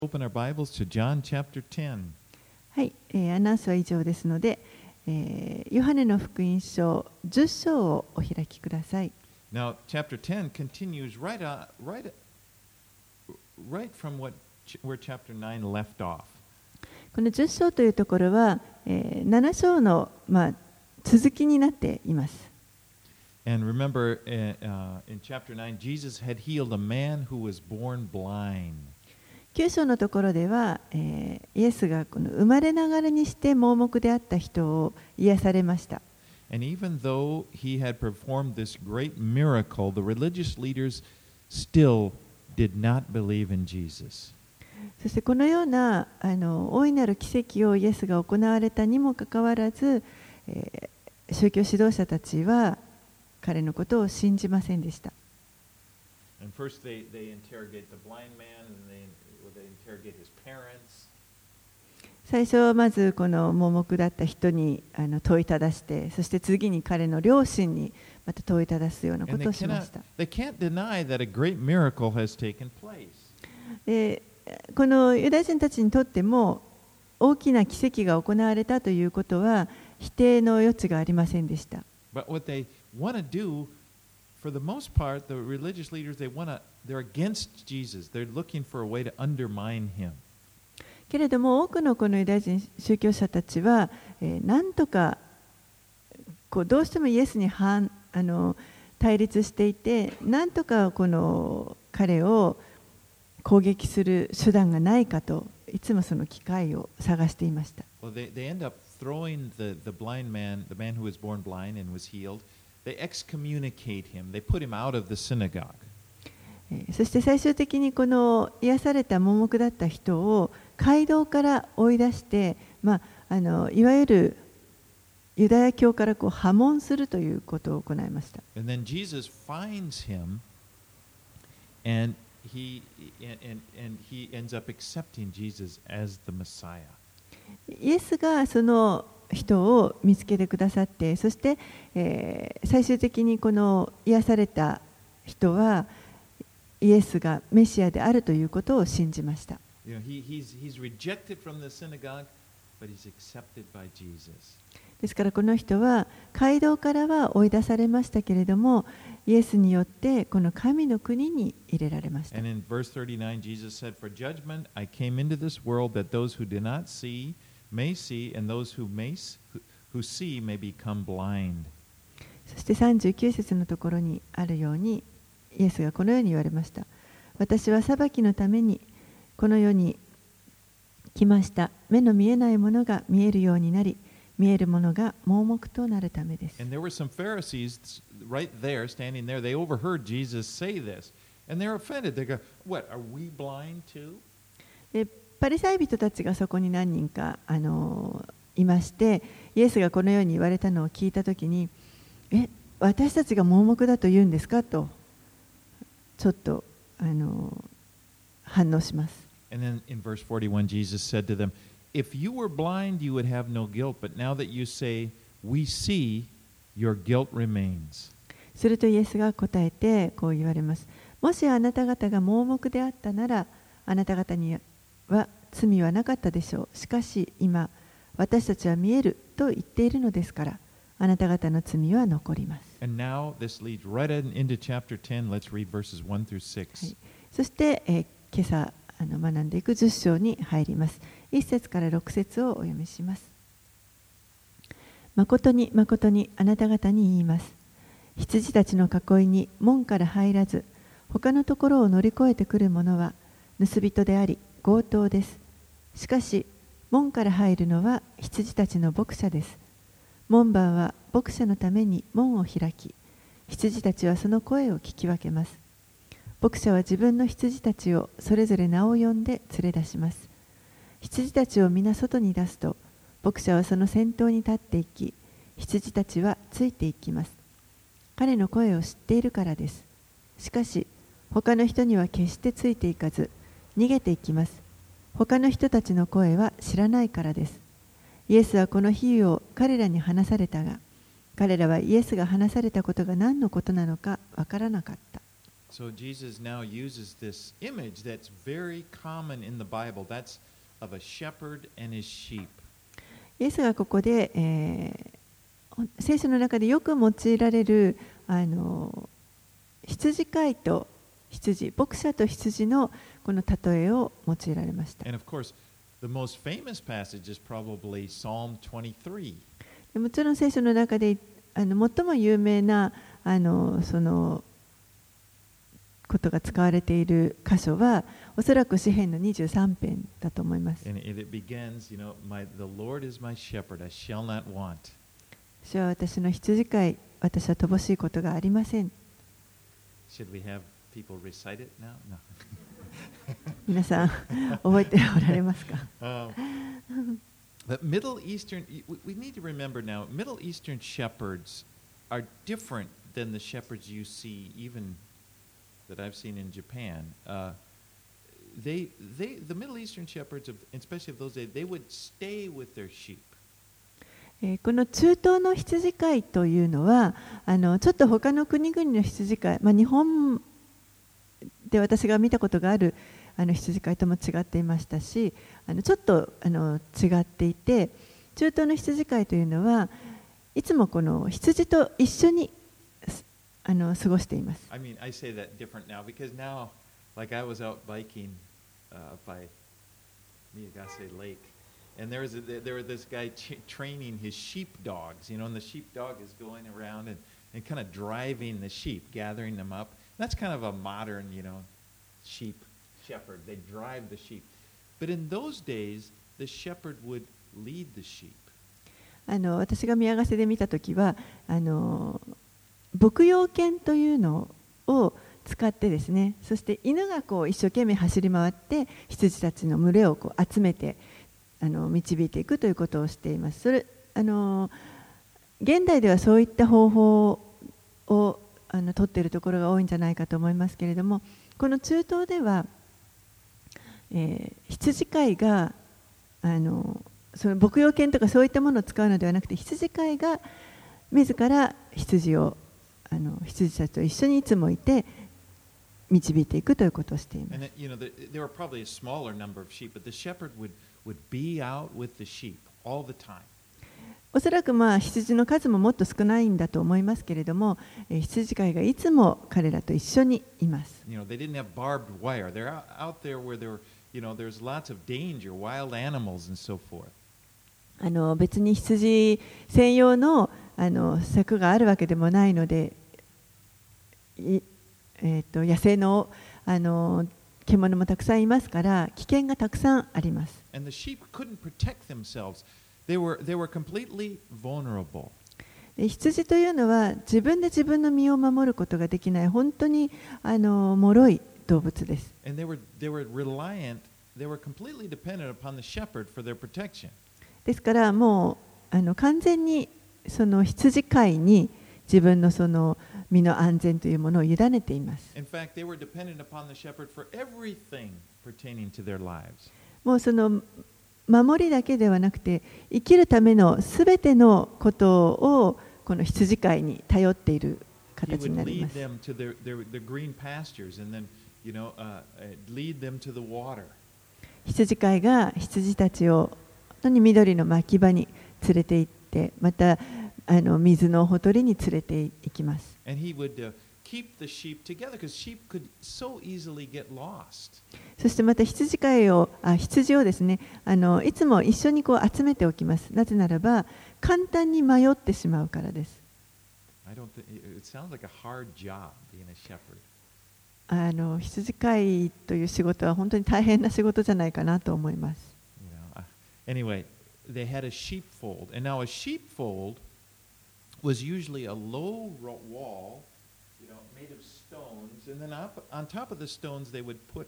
Open our Bibles to John chapter 10. はい、アナウンスは以上ですので、ヨハネの福音書10章をお開きください。 Now, chapter 10 continues right from where chapter 9 left off. この10章というところは、7章の、続きになっています。 And remember, in chapter 9, Jesus had healed a man who was born blind. 9章のところでは、イエスがこの生まれながらにして盲目であった人を癒されました。 And even though he had performed this great miracle, the religious leaders still did not believe in Jesus. そしてこのような大いなる奇跡をイエスが行われたにもかかわらず、宗教指導者たちは彼のことを信じませんでした。 And first they interrogate the blind man, and they interrogate his parents. 最初はまずこの盲目だった人に問いただして、そして次に彼の両親にまた問いただすようなことをしました。 They can't deny that a great miracle has taken place. で、このユダヤ人たちにとっても大きな奇跡が行われたということは否定の余地がありませんでした。 But what they want to do, for the most part, the religious leaders, they're against Jesus. They're looking for a way to undermine him. けれども多くのこのユダヤ人宗教者たちは、なんとかどうしてもイエスに対立していて、なんとかこの彼を攻撃する手段がないかといつもその機会を探していました。 Well, they end up throwing the blind man, the man who was born blind and was healed, they excommunicate him. They put him out of the synagogue. そして最終的にこの癒された盲目だった人を街道から追い出して、いわゆるユダヤ教から破門するということを行いました。 And then Jesus finds him, and he ends up accepting Jesus as the Messiah. イエスがその人を見つけてくださって、そして、最終的にこの癒された人はイエスがメシアであるということを信じました。 You know, he's rejected from the synagogue, but he's accepted by Jesus. ですからこの人は街道からは追い出されましたけれども、イエスによってこの神の国に入れられました。 And in verse 39, Jesus said, "For judgment I came into this world that those who did not see may see, and those who see may become blind." そして39節のところにあるように、イエスがこのように言われました。私は裁きのためにこの世に来ました。目の見えないものが見えるようになり、見えるものが盲目となるためです。 And there were some Pharisees right there, standing there. They overheard Jesus say this, and they're offended. They go, "What, are we blind too?" でパリサイ人たちがそこに何人かいまして、イエスがこのように言われたのを聞いたときに、私たちが盲目だと言うんですかとちょっと反応します。 And then in verse 41, Jesus said to them, "If you were blind, you would have no guilt, but now that you say, we see, your guilt remains." するとイエスが答えてこう言われます。もしあなた方が盲目であったなら、あなた方には罪はなかったでしょう。しかし今、私たちは見えると言っているのですから、あなた方の罪は残ります。 And now this leads right into chapter 10. Let's read verses 1 through 6. はい、そして、今朝学んでいく10章に入ります。1節から6節をお読みします。誠に誠にあなた方に言います。羊たちの囲いに門から入らず、他のところを乗り越えてくる者は盗人であり強盗です。しかし門から入るのは羊たちの牧者です。門番は牧者のために門を開き、羊たちはその声を聞き分けます。牧者は自分の羊たちをそれぞれ名を呼んで連れ出します。羊たちを皆外に出すと、牧者はその先頭に立っていき、羊たちはついていきます。彼の声を知っているからです。しかし、他の人には決してついていかず、逃げていきます。他の人たちの声は知らないからです。イエスはこの比喩を彼らに話されたが、彼らはイエスが話されたことが何のことなのかわからなかった。 So Jesus now uses this image that's very common in the Bible. That's of a shepherd and his sheep. イエスがここで、聖書の中でよく用いられる羊飼いと羊、牧者と羊のこの例えを用いられました。 And of course, the most famous passage is probably Psalm 23. もちろん聖書の中で最も有名なそのことが使われている箇所はおそらく詩編の23編だと思います。 And it begins, the Lord is my shepherd, I shall not want. 主は私の羊飼い、私は乏しいことがありません。 Should we have people recite it now? No. 皆さん覚えておられますか？ But Middle Eastern, we need to remember now, Middle Eastern shepherds are different than the shepherds you see even that I've seen in Japan. The Middle Eastern shepherds, especially of those days, they would stay with their sheep. この中東の羊飼いというのはちょっと他の国々の羊飼い、日本で私が見たことがある羊飼いとも違っていましたし、ちょっと違っていて、中東の羊飼いというのはいつもこの羊と一緒に過ごしています。 I mean, I say that different now because now, like I was out biking by Miyagase Lake, and there was this guy training his sheepdogs, and the sheepdog is going around and kind of driving the sheep, gathering them up. That's kind of a modern, shepherd. They drive the sheep. But in those days, the shepherd would lead the sheep. 私が宮ヶ瀬で見たときは牧羊犬というのを使ってですね、そして犬が一生懸命走り回って羊たちの群れを集めて導いていくということをしています。それ現代ではそういった方法を取っているところが多いんじゃないかと思いますけれども、この中東では、羊飼いがその牧羊犬とかそういったものを使うのではなくて、羊飼いが自ら羊たちと一緒にいつもいて導いていくということをしています。 There were probably a smaller number of sheep, but the shepherd would be out with the sheep all the time. おそらく羊の数ももっと少ないんだと思いますけれども、羊飼いがいつも彼らと一緒にいます。 They didn't have barbed wire. They're out there where there's lots of danger, wild animals and so forth. 別に羊専用の柵があるわけでもないので、野生の獣もたくさんいますから危険がたくさんあります。 And the sheep couldn't protect themselves. They were completely vulnerable. 羊というのは自分で自分の身を守ることができない本当に脆い動物です。 And they were reliant. They were completely dependent upon the shepherd for their protection. ですからもう完全にその羊飼いに自分のその身の安全というものを委ねています。 In fact, they were dependent upon the shepherd for everything pertaining to their lives. もうその守りだけではなくて生きるためのすべてのことをこの羊飼いに頼っている形になります。 He would lead them to the green pastures and then, lead them to the water. 羊飼いが羊たちを本当に緑の牧場に連れて行って、また水のほとりに連れて行きます。 And he would keep the sheep together because sheep could so easily get lost. そしてまた羊をですね、いつも一緒に集めておきます。なぜならば簡単に迷ってしまうからです。 It sounds like a hard job being a shepherd. 羊飼いという仕事は本当に大変な仕事じゃないかなと思います。 Anyway, they had a sheepfold, and now a sheepfold was usually a low wall, made of stones, and then on top of the stones they would put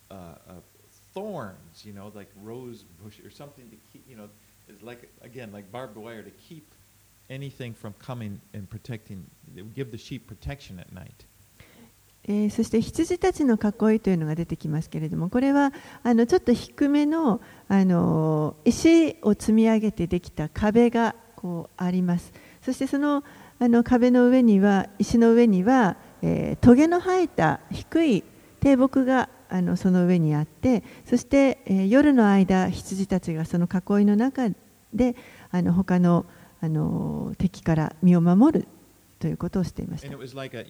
thorns, like rose bush or something to keep, it's like barbed wire to keep anything from coming and protecting. It would give the sheep protection at night. そして羊たちの囲いというのが出てきますけれども、これはちょっと低めの石を積み上げてできた壁があります。そしてその壁の上には石の上には棘の生えた低い低木がその上にあって、そして、夜の間羊たちがその囲いの中で他の、敵から身を守るということをしていました。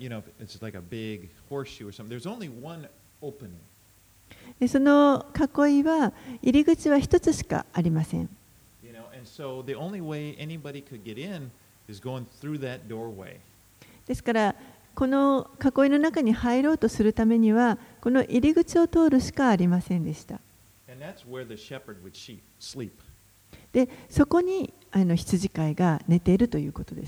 でその囲いは入り口は一つしかありません。ですからこの囲いの中に入ろうとするためにはこの入り口を通るしかありませんでした。でそこに羊飼いが寝ているということです。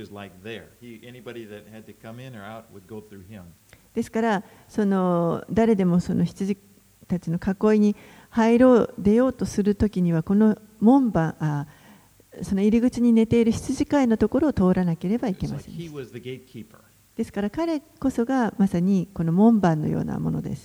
ですから誰でもその羊たちの囲いに出ようとするときにはこの門番その入り口に寝ている羊飼いのところを通らなければいけません。ですから彼こそがまさにこの門番のようなものです。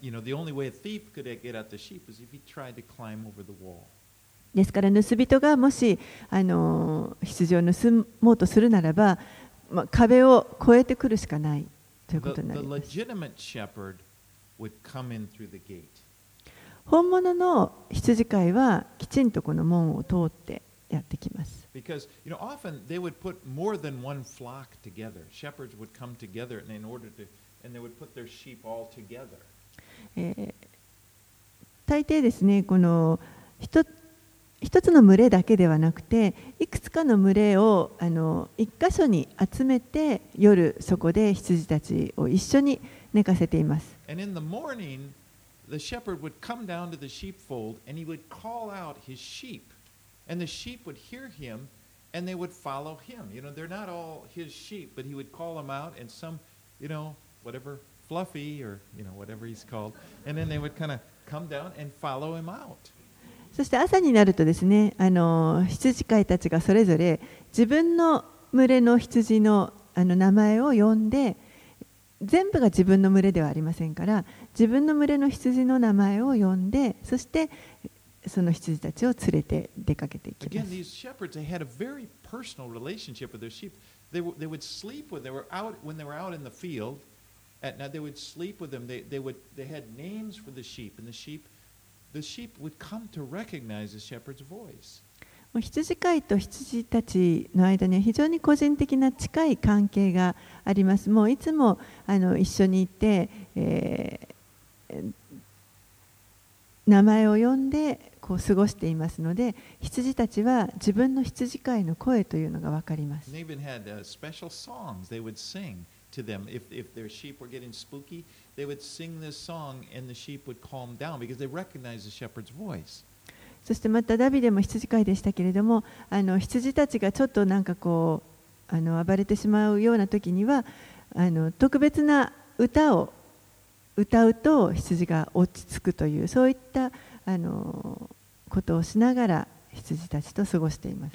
ですから盗人がもし羊を盗もうとするならば、壁を越えてくるしかないということになります。本物の羊飼いはきちんとこの門を通ってやってきます。 Because often they would put more than one flock together. Shepherds would come together and they would put their sheep all together. 大抵ですね、この一つの群れだけではなくて、いくつかの群れを一箇所に集めて夜そこで羊たちを一緒に寝かせています。 And in the morning, the shepherd would come down to the sheepfold and he would call out his sheep.And the sheep would hear him and they would follow him. They're not all his sheep, but he would call them out and some, whatever, Fluffy or, whatever he's called. And then they would kind of come down and follow him out. そして朝になるとですね、羊飼いたちがそれぞれ自分の群れの羊の名前を呼んで、全部が自分の群れではありませんから、自分の群れの羊の名前を呼んで、そしてその羊たちを連れて出かけていきます。 Again, these shepherds, they had a very personal relationship with their sheep. They would sleep when they were out in the field. At night, they would sleep with them. They had names for the sheep, and the sheep would come to recognize the shepherd's voice. 羊飼いと羊たちの間には非常に個人的な近い関係があります。もういつも一緒にいて、名前を呼んで過ごしていますので、羊たちは自分の羊飼いの声というのが分かります。そしてまたダビデも羊飼いでしたけれども、羊たちがちょっと暴れてしまうような時には特別な歌を歌うと羊が落ち着くという、そういったことをしながら羊たちと過ごしています。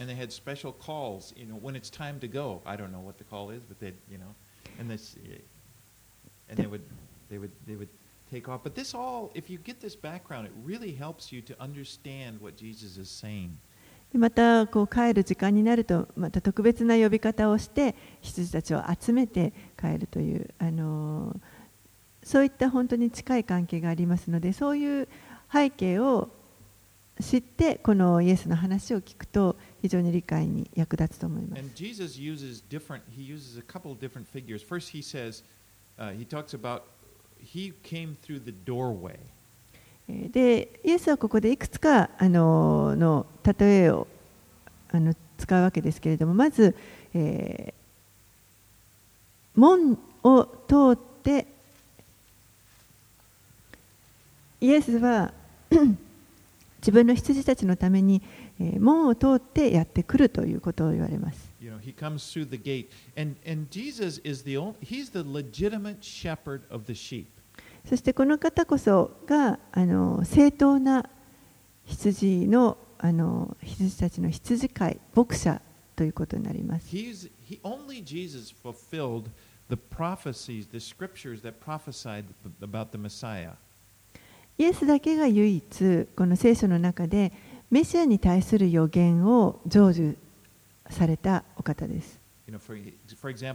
Take off. But this all, if you get this background, it really helps you to understand what Jesus is saying. また帰る時間になると、また特別な呼び方をして羊たちを集めて帰るという、そういった本当に近い関係がありますので、そういう背景を知ってこのイエスの話を聞くと非常に理解に役立つと思います。 And Jesus uses a couple of different figures. First, he says, he talks about.He came through the doorway. で、イエスはここでいくつかの例えを使うわけですけれども、まず、門を通ってイエスは自分の羊たちのために門を通ってやってくるということを言われます。 He comes through the gate, and Jesus is he's the legitimate shepherd of the sheep. そしてこの方こそが正当な羊たちの羊飼い、牧者ということになります。 Only Jesus fulfilled the prophecies, the scriptures that prophesied about the Messiah. イエスだけが唯一この聖書の中でメシアに対する予言を成就されたお方です。 For example,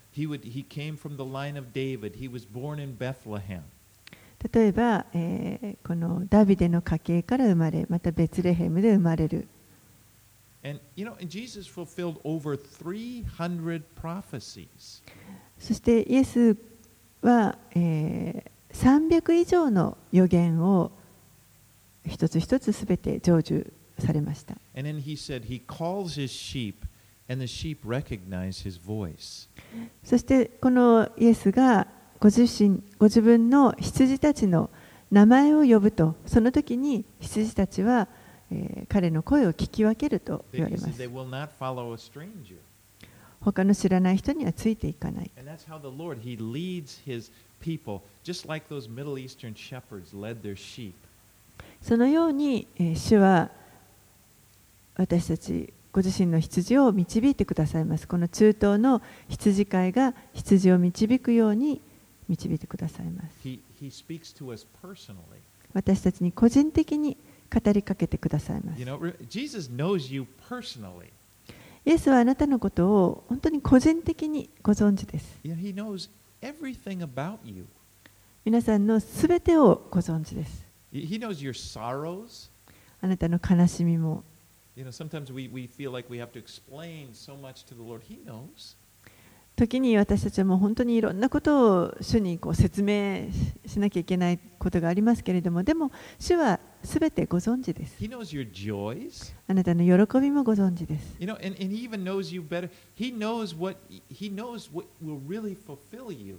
He came from the line of David. He was born in Bethlehem. 例えば、このダビデの家系から生まれ、またベツレヘムで生まれる。 And Jesus fulfilled over 300 prophecies. そしてイエスは、300以上の予言を一つ一つすべて成就されました。 And then he said he calls his sheep, and the sheep recognize his voice. そしてこのイエスがご自分の羊たちの名前を呼ぶと、その時に羊たちは、彼の声を聞き分けると言われます。 They will not follow a stranger. 他の知らない人にはついていかない。 And that's how the Lord, he leads his people, just like those Middle Eastern shepherds led their sheep. そのように、主は私たちご自身の羊を導いてくださいます。この中東の羊飼いが羊を導くように導いてくださいます。 He speaks to us personally. 私たちに個人的に語りかけてくださいます。 Jesus knows you personally. イエスはあなたのことを本当に個人的にご存知です。 He knows everything about you. 皆さんのすべてをご存知です。 He knows your sorrows. あなたの悲しみも。 Sometimes we feel like we have to explain so much to the Lord. He knows. 時に私たちはもう本当にいろんなことを主に説明しなきゃいけないことがありますけれども、でも主はすべてご存知です。 He knows your joys. あなたの喜びもご存知です。 And he even knows you better. He knows what will really fulfill you.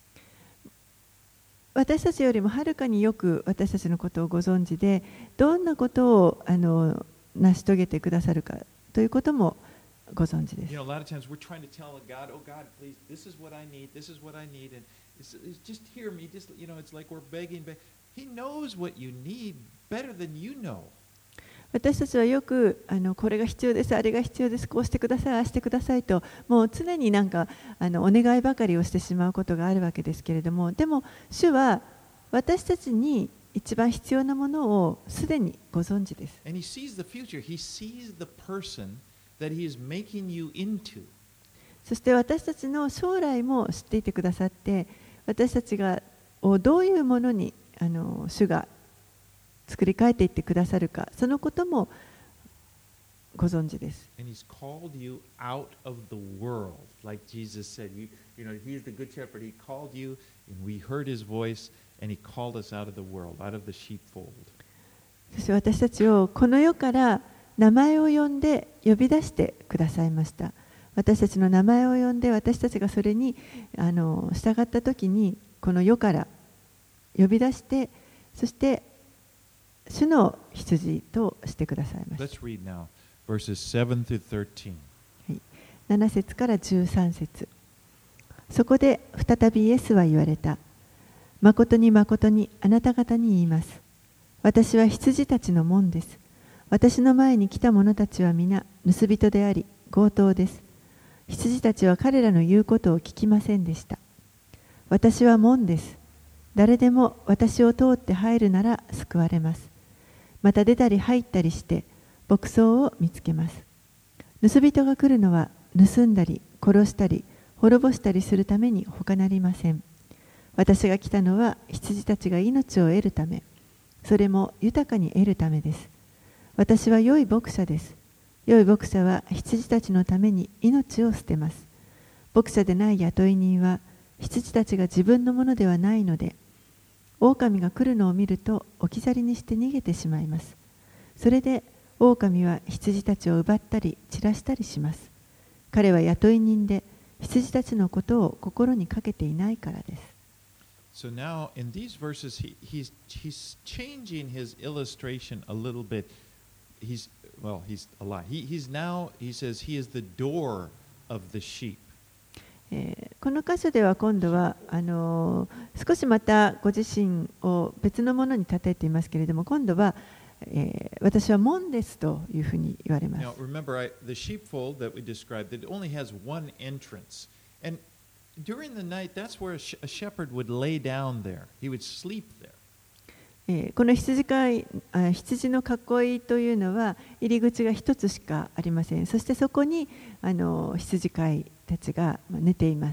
私たちよりもはるかによく私たちのことをご存知で、どんなことを成し遂げてくださるかということもご存知です。 A lot of times we're trying to tell God, "Oh God, please, this is what I need. This is what I need." And it's just hear me. Just it's like we're begging. He knows what you need better than you know. 私たちはよくこれが必要です、あれが必要です、こうしてください、ああしてくださいと、もう常にお願いばかりをしてしまうことがあるわけですけれども、でも主は私たちに一番必要なものをすでにご存知です。 And he sees the future. He sees the person that he is making you into. そして私たちの将来も知っていてくださって、私たちがどういうものに主が作り変えていってくださるか、そのこともご存知です。 And he's called you out of the world, like Jesus said. He's the good shepherd. He called you, and we heard his voice, and he called us out of the world, out of the sheepfold. そして私たちをこの世から名前を呼んで呼び出してくださいました。私たちの名前を呼んで、私たちがそれに従ったときに、この世から呼び出して、そして主の羊としてくださいました。 Let's read now, verses 7 through 13. 7節から13節。そこで再びイエスは言われた。誠に誠にあなた方に言います。私は羊たちの門です。私の前に来た者たちは皆盗人であり強盗です。羊たちは彼らの言うことを聞きませんでした。私は門です。誰でも私を通って入るなら救われます。また出たり入ったりして牧草を見つけます。盗人が来るのは盗んだり殺したり滅ぼしたりするために他なりません。私が来たのは羊たちが命を得るため、それも豊かに得るためです。私は良い牧者です。良い牧者は羊たちのために命を捨てます。牧者でない雇い人は羊たちが自分のものではないので、狼が来るのを見ると置き去りにして逃げてしまいます。それで狼は羊たちを奪ったり散らしたりします。彼は雇い人で羊たちのことを心にかけていないからです。 So now in these verses, he's changing his illustration a little bit. He's a lie. He says he is the door of the sheep. この箇所では今度は少しまたご自身を別のものに例えていますけれども、今度は、私は門ですというふうに言われます。 Now remember, the sheepfold that we described, it only has one entrance. And during the night, that's where a shepherd would lay down there. He would sleep there. この羊の囲いというのは入り口が一つしかありません。そしてそこに羊飼いたちが寝ています。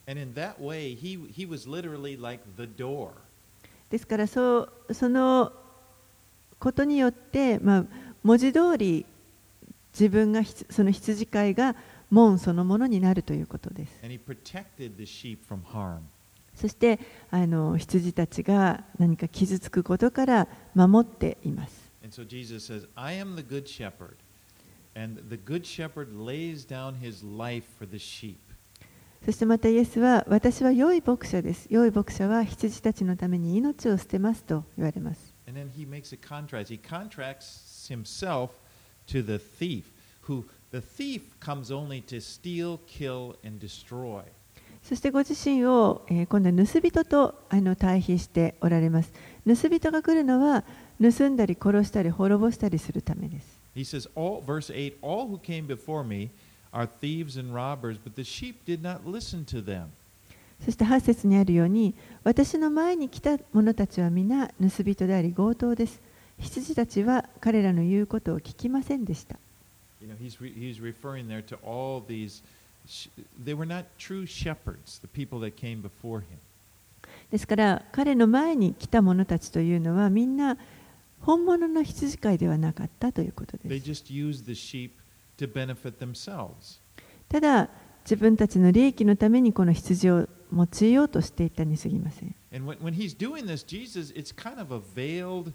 And in that way, he was literally like the door. ですからそのことによって、文字通り自分がその羊飼いが門そのものになるということです。 And he protected the sheep from harm. そして羊たちが何か傷つくことから守っています。 And so Jesus says, I am the good shepherd, and the good shepherd lays down his life for the sheep. そしてまたイエスは、私は良い牧者です。良い牧者は羊たちのために命を捨てますと言われます。 And then he makes a contrast. He contracts himself to the thief, who the thief comes only to steal, kill, and destroy. そしてご自身を、今度は盗人と対比しておられます。盗人が来るのは盗んだり殺したり滅ぼしたりするためです。 He says, verse 8, all who came before me are thieves and robbers, but the sheep did not listen to them. そして8節にあるように、私の前に来た者たちは皆盗人であり強盗です。羊たちは彼らの言うことを聞きませんでした。 You know, he's referring there to all these, they were not true shepherds, the people that came before him. ですから彼の前に来た者たちというのはみんな本物の羊飼いではなかったということで They す。 just used the sheep to benefit themselves. ただ自分たちの利益のためにこの羊を用いようとしていたに過ぎません。 And when he's doing this, Jesus, it's kind of a veiled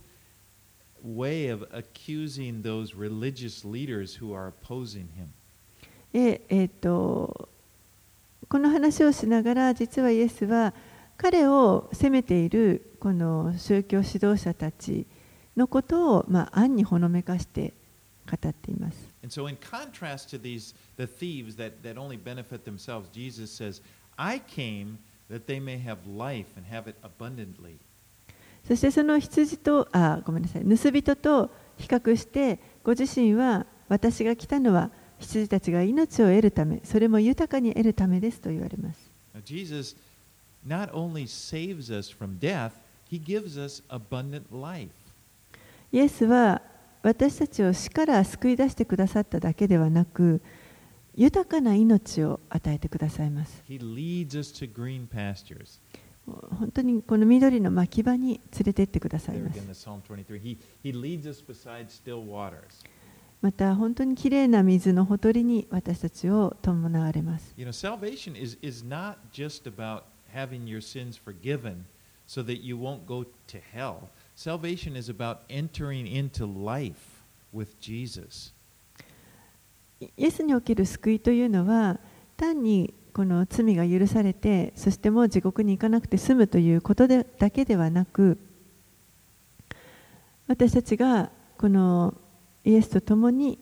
way of accusing those religious leaders who are opposing him. でこの話をしながら実はイエスは彼を責めているこの宗教指導者たちのことを暗にほのめかして語っています。 And so in contrast to the thieves that only benefit themselves, Jesus says, I came that they may have life and have it abundantly. そしてその羊と盗人と比較してご自身は私が来たのは羊たちが命を得るため、それも豊かに得るためですと言われます。 Now, Jesus not only saves us from death, he gives us abundant life. イエスは私たちを死から救い出してくださっただけではなく、豊かな命を与えてくださいます。 He leads us to green pastures. 本当にこの緑の牧場に連れて行ってください There ます。 again, the Psalm 23. He leads us beside still waters. また本当にきれいな水のほとりに私たちを伴われます。 You know, salvation is not just about having your sins forgiven so that you won't go to hell. Salvation is about entering into life with Jesus. イエスにおける救いというのは単にこの罪が許されてそしてもう地獄に行かなくて済むということだけではなく、私たちがこのイエスと共に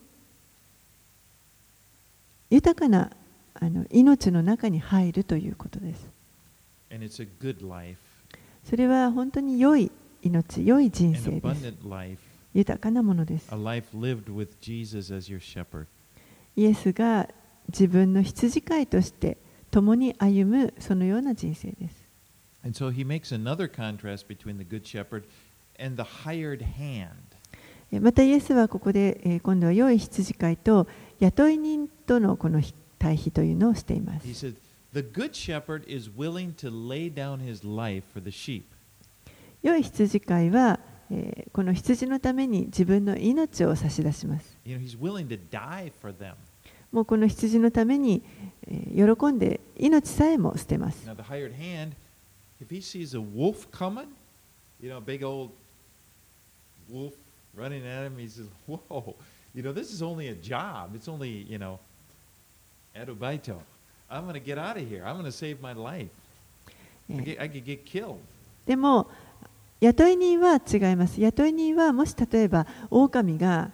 豊かな命の中に入るということです。 And it's a good life, それは本当に良い命、良い人 an 生です。 abundant life, 豊かなものです。 a life lived with Jesus as your shepherd. イエスが自分の羊飼いとして共に歩むそのような人生です。 And so he makes another contrast between the good shepherd and the hired hand. またイエスはここで今度は良い羊飼いと雇い人とのこの対比というのをしています。 He said, the good shepherd is willing to lay down his life for the sheep. 良い羊飼いはこの羊のために自分の命を差し出します。 You know, he's willing to die for them. もうこの羊のために喜んで命さえも捨てます。 Now, the hired hand, if he sees a wolf coming, you know, a big old wolf running at him, he says, whoa, you know, this is only a job. It's only, you know, arubaito. I'm going to get out of here. I'm going to save my life. I could get killed. でも雇い人は違います。雇い人はもし例えば狼が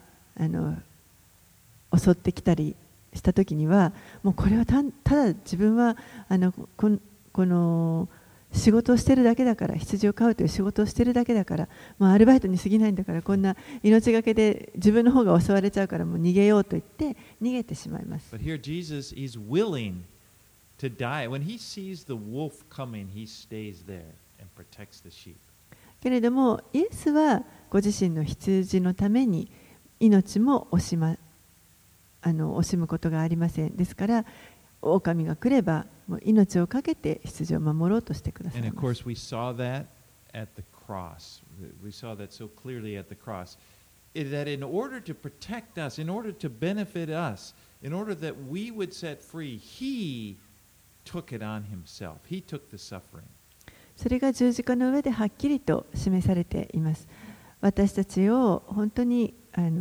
襲ってきたりしたときにはもうこれはただ自分はこの仕事をしてるだけだから、羊を飼うという仕事をしてるだけだから、もうアルバイトに過ぎないんだから、こんな命がけで自分の方が襲われちゃうからもう逃げようと言って逃げてしまいます。 But here Jesus, he's willing to die. When he sees the wolf coming, he stays there and protects the sheep. けれどもイエスはご自身の羊のために命も惜しむことがありません。ですから狼が来ればもう命を懸けて羊を守ろうとしてください And ま of す。 course, we saw that at the cross. We saw that so clearly at the cross. That in order to protect us, in order to benefit us, in order that we would set free, He took it on Himself. He took the suffering. それが十字架の上ではっきりと示されています。私たちを本当に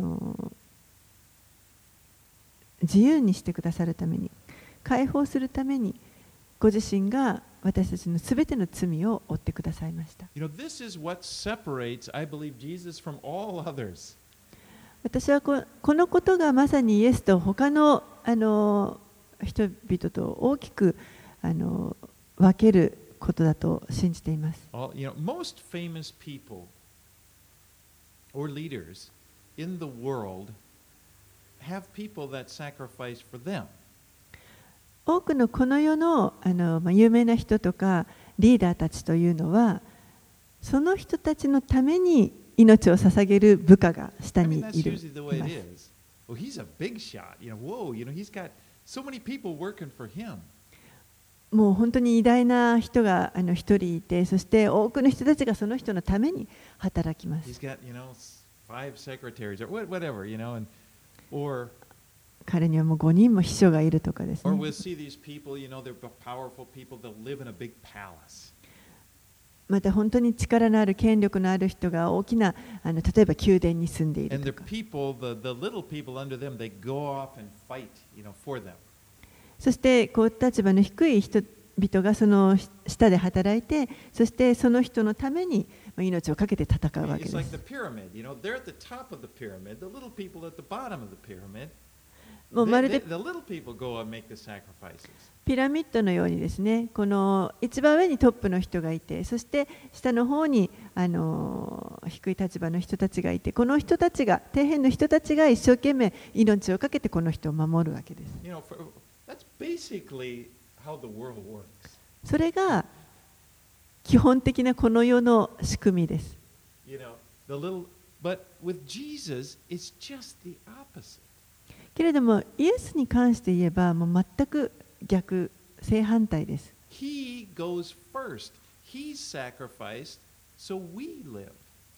自由にしてくださるために、解放するために、ご自身が私たちのすべての罪を負ってくださいました。 This is what separates, I believe, Jesus from all others. 私はこのことがまさにイエスと他の人々と大きく分けることだと信じています。 Most famous people or leaders in the world have people that sacrifice for them. 多くのこの世の有名な人とかリーダーたちというのは、その人たちのために命を捧げる部下が下にいます。もう本当に偉大な人が一人いて、そして多くの人たちがその人のために働きます。彼にはもう5人も秘書がいるとかですね。また本当に力のある権力のある人が大きな例えば宮殿に住んでいるとか。そしてこう立場の低い人々がその下で働いて、そしてその人のために命を懸けて戦うわけです。もうまるでピラミッドのようにですね、この一番上にトップの人がいて、そして下の方に低い立場の人たちがいて、この人たちが、底辺の人たちが一生懸命命を懸けてこの人を守るわけです。それが基本的なこの世の仕組みです。けれども、イエスに関して言えば、もう全く逆、正反対です。 He goes first. He sacrificed, so we live.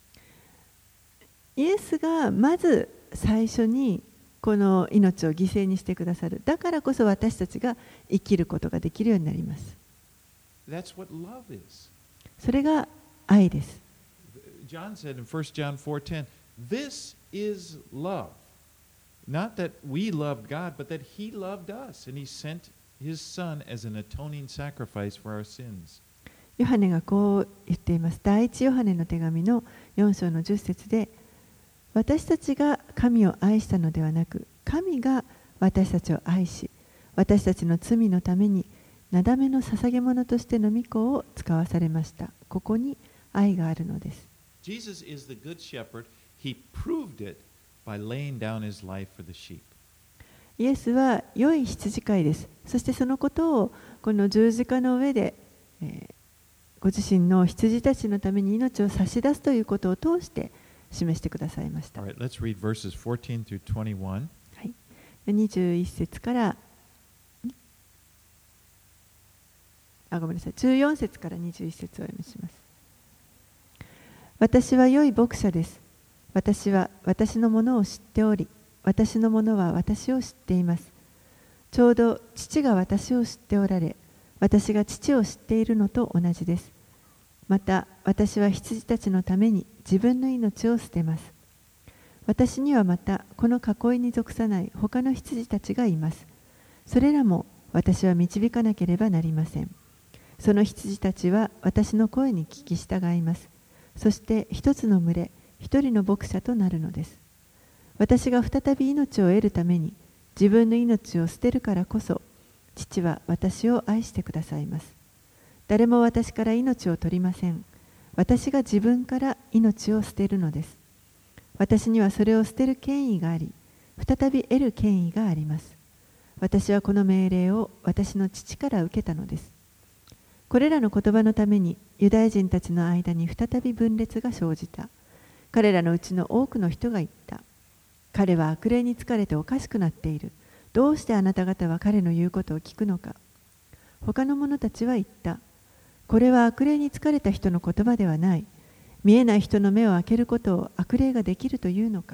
イエスがまず最初にこの命を犠牲にしてくださる。だからこそ私たちが生きることができるようになります。 That's what love is. それが愛です。 John said in 1 John 4:10, "This is love. Not that we loved God, but that He loved us, and He sent His Son as an atoning sacrifice for our sins." ヨハネがこう言っています。第一ヨハネの手紙の4章の10節で、私たちが神を愛したのではなく、神が私たちを愛し、私たちの罪のためになだめの捧げ物としての御子を使わされました。ここに愛があるのです。 Jesus is the good shepherd. He proved it by laying down his life for the sheep. イエスは良い羊飼いです。そしてそのことをこの十字架の上で、ご自身の羊たちのために命を差し出すということを通して示してくださいました。 All right, let's read verses 14 through 21. はい、21節からごめんなさい、14節から21節をお読みします。私は良い牧者です。私は私のものを知っており、私のものは私を知っています。ちょうど父が私を知っておられ、私が父を知っているのと同じです。また私は羊たちのために自分の命を捨てます。私にはまたこの囲いに属さない他の羊たちがいます。それらも私は導かなければなりません。その羊たちは私の声に聞き従います。そして一つの群れ、一人の牧者となるのです。私が再び命を得るために自分の命を捨てるからこそ、父は私を愛してくださいます。誰も私から命を取りません。私が自分から命を捨てるのです。私にはそれを捨てる権威があり、再び得る権威があります。私はこの命令を私の父から受けたのです。これらの言葉のためにユダヤ人たちの間に再び分裂が生じた。彼らのうちの多くの人が言った。彼は悪霊に疲れておかしくなっている。 どうしてあなた方は彼の言うことを聞くのか。他の者たちは言った。これは悪霊に疲れた人の言葉ではない。見えない人の目を開けることを悪霊ができるというのか。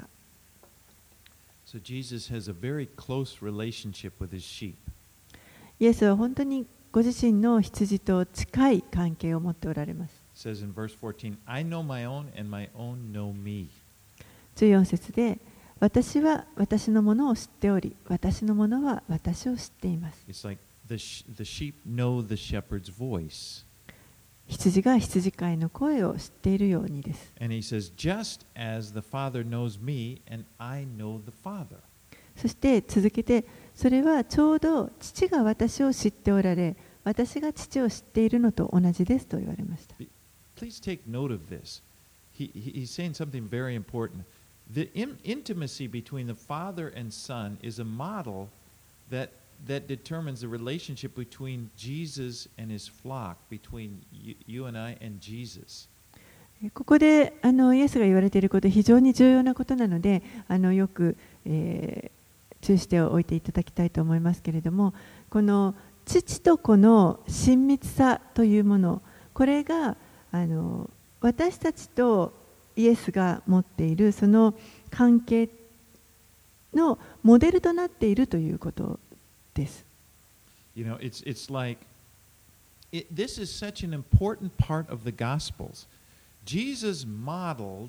So Jesus has a very close relationship with his sheep. イエスは本当にご自身の羊と近い関係を持っておられます。 It says in verse 14, I know my own and my own know me. 14節で、私は私のものを知っており、私のものは私を知っています。 It's like the sheep know the shepherd's voice. 羊が羊飼いの声を知っているようにです。 And he says, just as the Father knows me and I know the Father. そして続けて、それはちょうど父が私を知っておられ、私が父を知っているのと同じですと言われました。 Please take note of this. He's saying something very important. The intimacy between the Father and Son is a model that determines the relationship between Jesus and his flock, between you and I and Jesus. ここでイエスが言われていることは非常に重要なことなので、よく、注意しておいていただきたいと思いますけれども、この父と子の親密さというもの、これが私たちとイエスが持っているその関係のモデルとなっているということです。 You know, it's like this is such an important part of the Gospels. Jesus modeled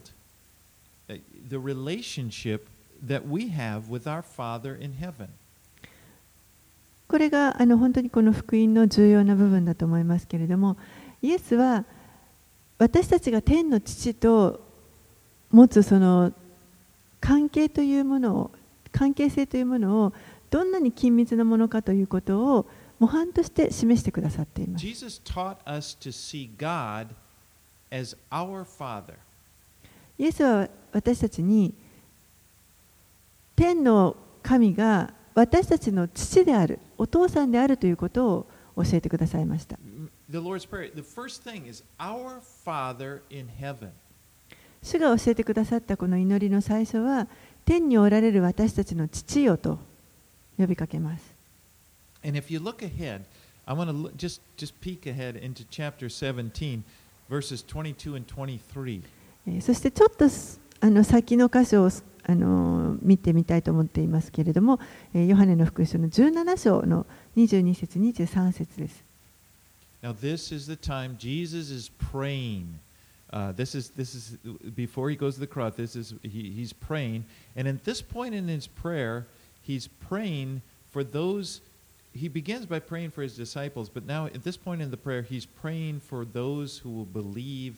the relationship that we have with our Father in heaven. これが本当にこの福音の重要な部分だと思いますけれども、イエスは私たちが天の父と持つその関係というものを、関係性というものをどんなに緊密なものかということを模範として示してくださっています。 Jesus taught us to see God as our Father. イエスは私たちに天の神が私たちの父である、お父さんであるということを教えてくださいました。 The Lord's Prayer, the first thing is our Father in heaven. 主が教えてくださったこの祈りの最初は、天におられる私たちの父よと呼びかけます。 And if you look ahead, I want to just peek ahead into chapter 17, verses 22 and 23. そしてちょっと先の箇所を見てみたいと思っていますけれども、ヨハネの福音書の17章の22節23節です。 Now this is the time Jesus is praying. This is before he goes to the cross. He's praying, and at this point in his prayer, he's praying for those. He begins by praying for his disciples, but now at this point in the prayer, he's praying for those who will believe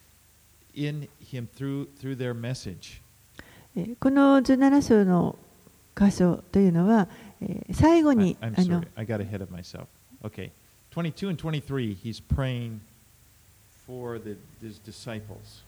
in him through their message. この17章の箇所というのは、最後に I'm sorry, I got ahead of myself. Okay, 22 and 23, he's praying for his disciples.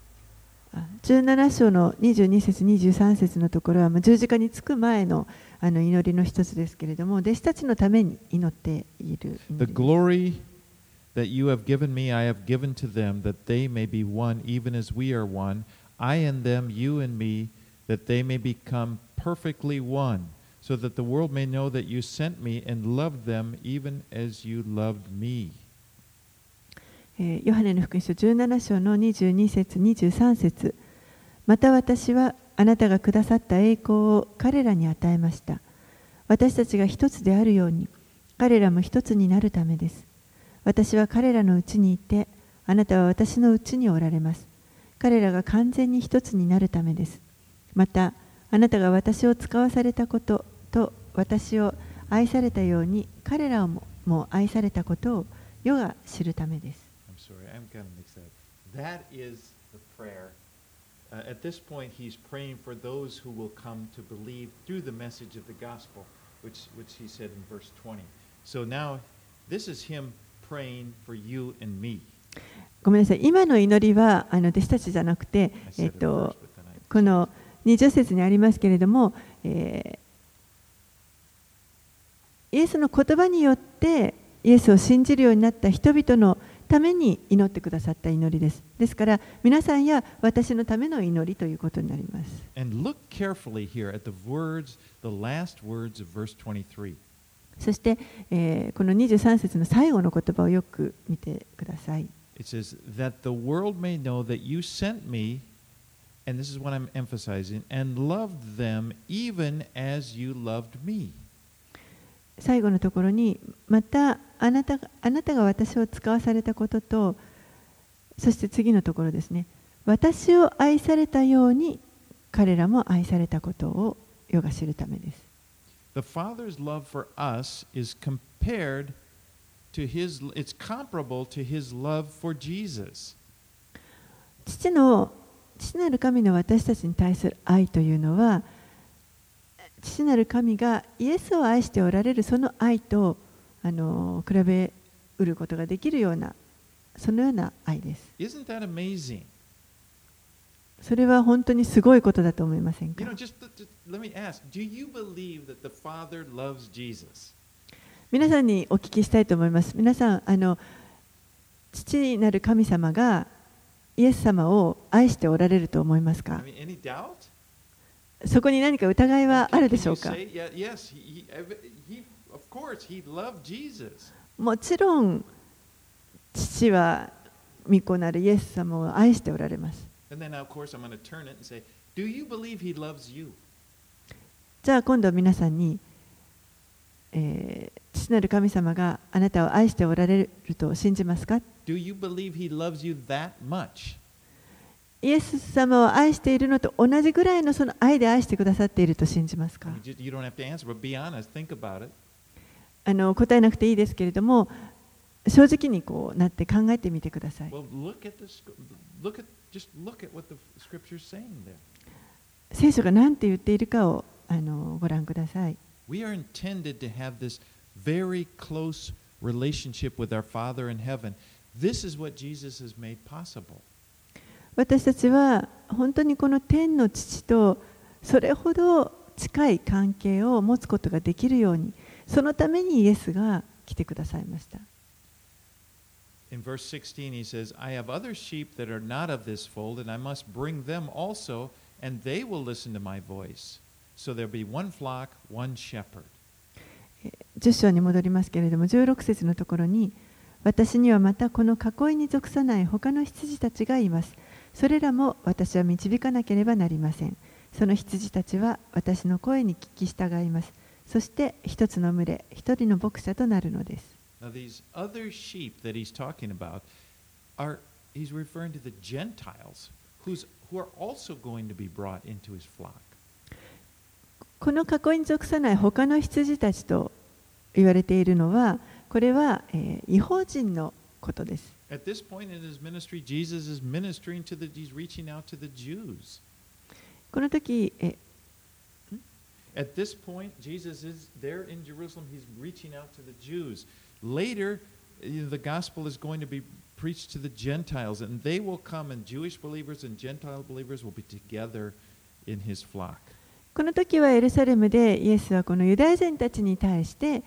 17章の22節23節のところは十字架につく前の祈りの一つですけれども、弟子たちのために祈っている。 The glory that you have given me, I have given to them, that they may be one, even as we are one. I and them, you and me, that they may become perfectly one, so that the world may know that you sent me and loved them, even as you loved me. ヨハネの福音書17章の22節23節。また私はあなたがくださった栄光を彼らに与えました。私たちが一つであるように、彼らも一つになるためです。私は彼らのうちにいて、あなたは私のうちにおられます。彼らが完全に一つになるためです。また、あなたが私を使わされたことと私を愛されたように、彼らも愛されたことを世が知るためです。 I'm sorry, I'm kind of mixed up. That is the prayer. At this point, he's praying for those who will come to believe through the message of the gospel, which he said in verse 20. So now, this is him praying for you and me. ごめんなさい。今の祈りは弟子たちじゃなくて、この20節にありますけれども、イエスの言葉によってイエスを信じるようになった人々のために祈ってくださった祈りです。ですから皆さんや私のための祈りということになります。 And look carefully here at the words, the last words of verse 23. そして、この23節の最後の言葉をよく見てください。 It says, that the world may know that you sent me, and this is what I'm emphasizing, and loved them even as you loved me. 最後のところに、またあなたが私を使わされたことと、そして次のところですね。私を愛されたように彼らも愛されたことを世が知るためです。 The Father's love for us is compared to his, it's comparable to his love for Jesus. 父なる神の私たちに対する愛というのは、父なる神がイエスを愛しておられるその愛と比べうることができるような、そのような愛です。 Isn't that amazing? それは本当にすごいことだと思いませんか？ just let me ask, do you believe that the Father loves Jesus? 皆さんにお聞きしたいと思います。皆さん、父なる神様がイエス様を愛しておられると思いますか？ Any doubt? そこに何か疑いはあるでしょうか？ Yes, of course, he loved Jesus. もちろん父は御子なるイエス様を愛しておられます。 And then, of course, I'm going to turn it and say, do you believe he loves you? じゃあ今度は皆さんに、父なる神様があなたを愛しておられると信じますか？ Do you believe he loves you that much? イエス様を愛しているのと同じぐらいのその愛で愛してくださっていると信じますか？ You don't have to answer, but be honest, think about it. 答えなくていいですけれども、正直にこうなって考えてみてください。 Well, just look at what the scripture's saying there. 聖書が何て言っているかをご覧ください。 We are intended to have this very close relationship with our Father in heaven. This is what Jesus has made possible. 私たちは本当にこの天の父とそれほど近い関係を持つことができるように、そのためにイエスが来てくださいました。 In verse 16 he says, I have other sheep that are not of this fold, and I must bring them also, and they will listen to my voice. So there'll be one flock, one shepherd. 10章に戻りますけれども、16節のところに、私にはまたこの囲いに属さない他の羊たちがいます。それらも私は導かなければなりません。その羊たちは私の声に聞き従います。そして一つの群れ、一人の牧者となるのです。 Now these other sheep that he's talking about he's referring to the Gentiles who are also going to be brought into his flock. この囲いに属さない他の羊たちと言われているのは、これは、異邦人のことです。 At this point in his ministry, Jesus is ministering he's reaching out to the Jews. この時、 At this point, Jesus is there in Jerusalem. He's reaching out to the Jews. Later, the gospel is going to be preached to the Gentiles, and they will come, and Jewish believers and Gentile believers will be together in his flock. この時はエルサレムでイエスはこのユダヤ人たちに対して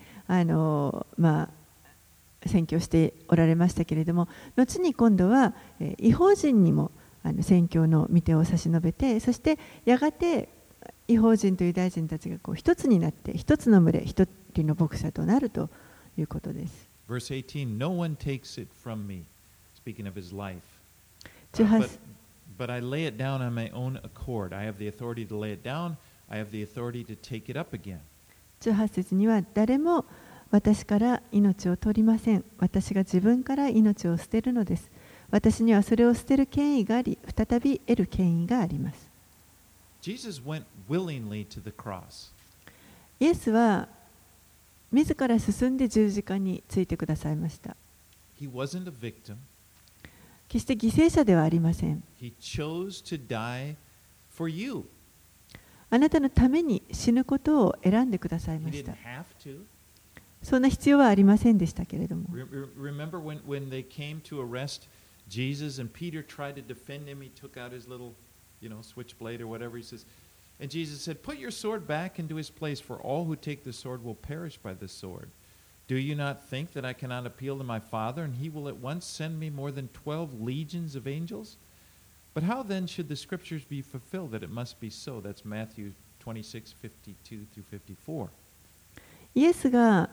宣教しておられましたけれども、後に今度は異邦人にも宣教の御手を差し伸べて、そしてやがて異邦人とユダヤ人たちがこう一つになって一つの群れ、一人の牧者となるということです。 Verse 18, no one takes it from me, speaking of his life. 18 But I lay it down on my own accord. I have the authority to lay it down. I have the authority to take it up again. 18節には、誰も私から命を取りません。私が自分から命を捨てるのです。私にはそれを捨てる権威があり、再び得る権威があります。 Jesus went willingly to the cross. イエスは自ら進んで十字架についてくださいました。 He wasn't a victim. 決して犠牲者ではありません。 He chose to die for you. あなたのために死ぬことを選んでください He ました didn't。have to. そんな必要はありませんでしたけれども。 Remember when they came to arrest Jesus and Peter tried to defend him, he took out his little, switchblade or whatever. He says, and Jesus said, put your sword back into his place, for all who take the sword will perish by the sword. Do you not think that I cannot appeal to my Father, and he will at once send me more than 12 legions of angels? But how then should the scriptures be fulfilled that it must be so? That's Matthew 26:52 through 54. イエスが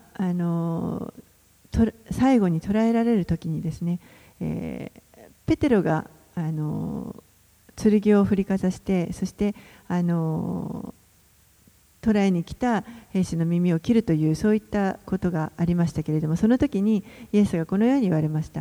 最後に捕らえられる時にですね、ペテロが剣を振りかざして、そして捕らえに来た兵士の耳を切るというそういったことがありましたけれども、その時にイエスがこのように言われました。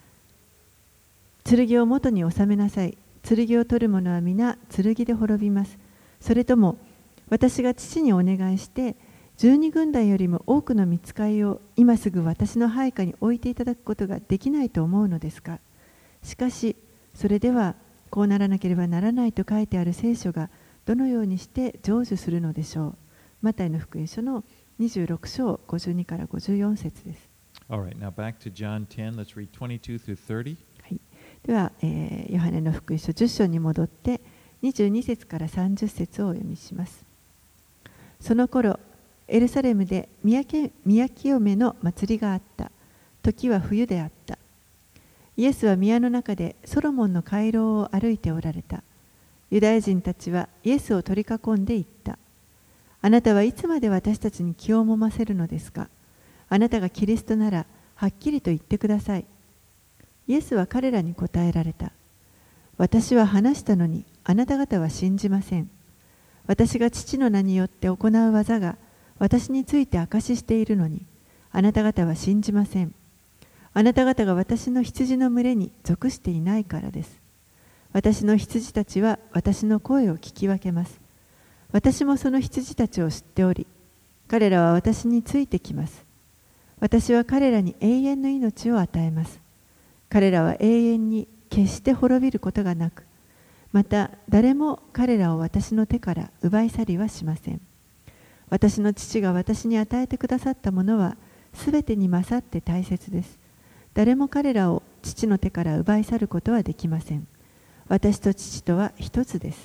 剣を元に収めなさい。剣を取る者は皆剣で滅びます。それとも私が父にお願いして12軍団よりも多くの御使いを今すぐ私の配下に置いていただくことができないと思うのですか。しかしそれではこうならなければならないと書いてある聖書がどのようにして成就するのでしょう。マタイの福音書の26章52から54節です。 Alright, now back to John 10. Let's read 22 through 30. はい、では、ヨハネの福音書10章に戻って22節から30節をお読みします。その頃、エルサレムで宮清めの祭りがあった。時は冬であった。イエスは宮の中でソロモンの回廊を歩いておられた。ユダヤ人たちはイエスを取り囲んで言った。あなたはいつまで私たちに気をもませるのですか。あなたがキリストならはっきりと言ってください。イエスは彼らに答えられた。私は話したのにあなた方は信じません。私が父の名によって行う技が私について証ししているのにあなた方は信じません。あなた方が私の羊の群れに属していないからです。私の羊たちは私の声を聞き分けます。私もその羊たちを知っており、彼らは私についてきます。私は彼らに永遠の命を与えます。彼らは永遠に決して滅びることがなく、また誰も彼らを私の手から奪い去りはしません。私の父が私に与えてくださったものはすべてに勝って大切です。誰も彼らを父の手から奪い去ることはできません。私と父とは一つです。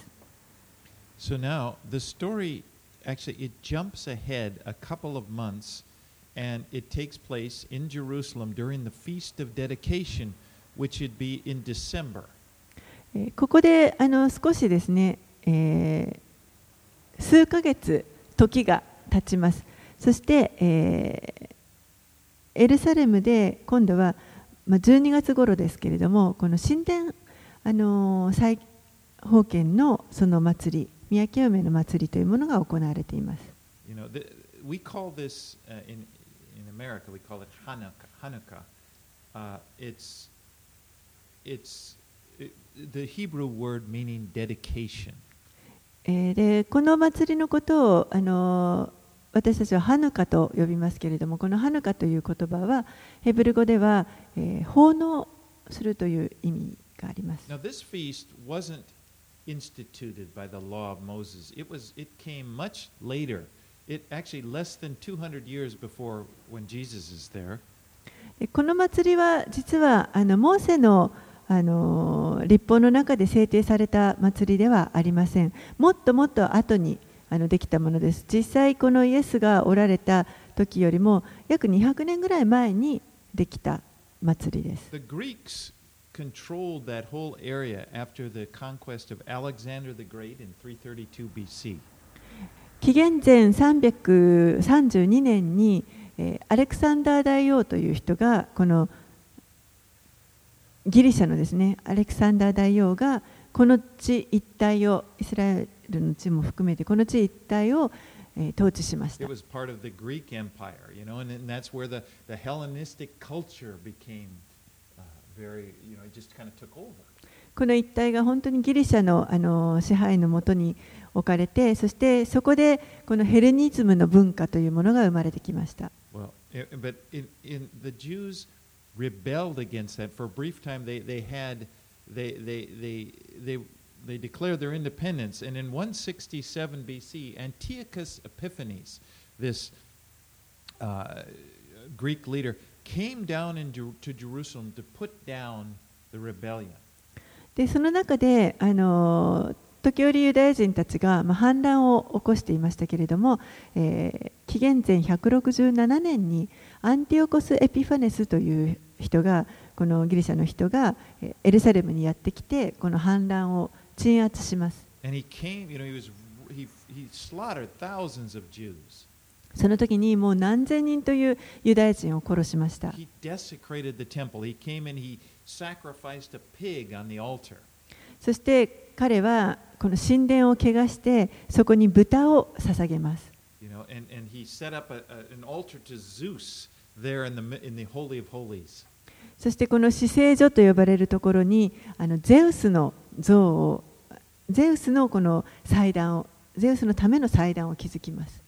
So now the story actually it jumps ahead a couple of months and it takes place in Jerusalem during the Feast of Dedication, which would be in December. ここで少しですね、数ヶ月時が経ちます。そして、エルサレムで今度は12月頃ですけれども、この神殿再封建のその祭り、宮清めの祭りというものが行われています。 You know, we call this in America we call it Hanukkah. It's the Hebrew word meaning dedication. でこの祭りのことを私たちはハヌカと呼びますけれども、このハヌカという言葉はヘブル語では、奉納するという意味があります。 Now this feast wasn't instituted by the law of Moses. It came much later. It actually less than 200 years before when Jesus is there. この祭りは実はモーセの律法の中で制定された祭りではありません。もっともっと後にできたものです。実際このイエスがおられた時よりも約200年ぐらい前にできた祭りです。 The Greeks controlled that whole area after the conquest of Alexander the Great in 332 BC. 紀元前332年にアレクサンダー大王という人がこのギリシャのですね、アレクサンダー大王がこの地一帯をイスラエルの地も含めてこの地一帯を統治しました。 It was part of the Greek Empire, you know, and that's where the Hellenistic culture became very, you know, it just kind of took over. この一帯が本当にギリシャの支配のもとに置かれて、そしてそこでこのヘレニズムの文化というものが生まれてきました。 Well, but the Jews rebelled against that for a brief time. They declared their independence, and in 167 BC, Antiochus Epiphanes, this Greek leader, came down to Jerusalem to put down the rebellion. でその中で時折ユダヤ人たちが、反乱を起こしていましたけれども、紀元前167年にアンティオコス・エピファネスという人が、このギリシャの人がエルサレムにやってきて、この反乱を鎮圧します。その時にもう何千人というユダヤ人を殺しました。そして彼はこの神殿を汚して、そこに豚を捧げます。そしてこの至聖所と呼ばれるところにゼウスの像を、ゼウスのこの祭壇を、ゼウスのための祭壇を築きます。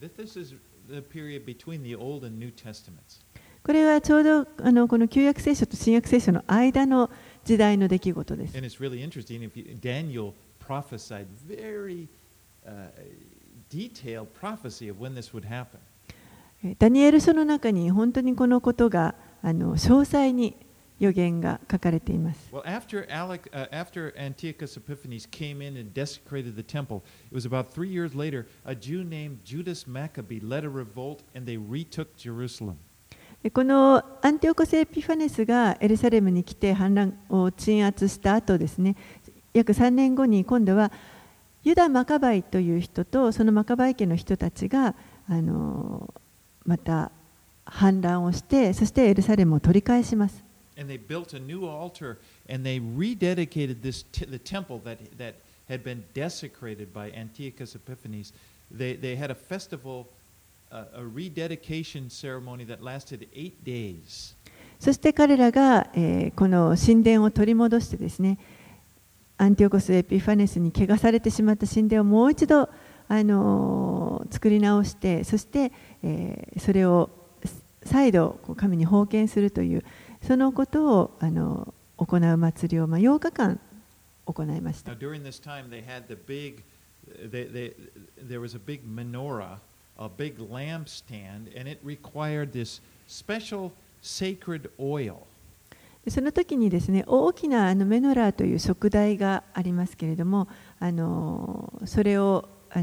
これはちょうどこの旧約聖書と新約聖書の間の時代の出来事です。 Daniel prophesied very detailed prophecy of when this would happen. ダニエル書の中に本当にこのことが詳細に予言が書かれています。 Well, after Antiochus Epiphanes came in and desecrated the temple, it was about 3 years later, a Jew named Judas Maccabee led a revolt and they retook Jerusalem. このアンティオコス・エピファネスがエルサレムに来て反乱を鎮圧した後ですね、約3年後に今度はユダ・マカバイという人とそのマカバイ家の人たちがまた反乱をして、そしてエルサレムを取り返します。 And they built a new altar and they rededicated the temple that had been desecrated by Antiochus Epiphanes. They had a festival, a rededication ceremony that lasted 8 days. そして彼らが、この神殿を取り戻してですね、アンティオコス・エピファネスに汚されてしまった神殿をもう一度、作り直して、そして、それを再度神に奉献するというそのことを行う祭りを8日間行いました。 Now, during this time, there was a big menorah, a big lampstand, and it required this special sacred oil. その時にですね、大きなメノラーという燭台がありますけれども、それを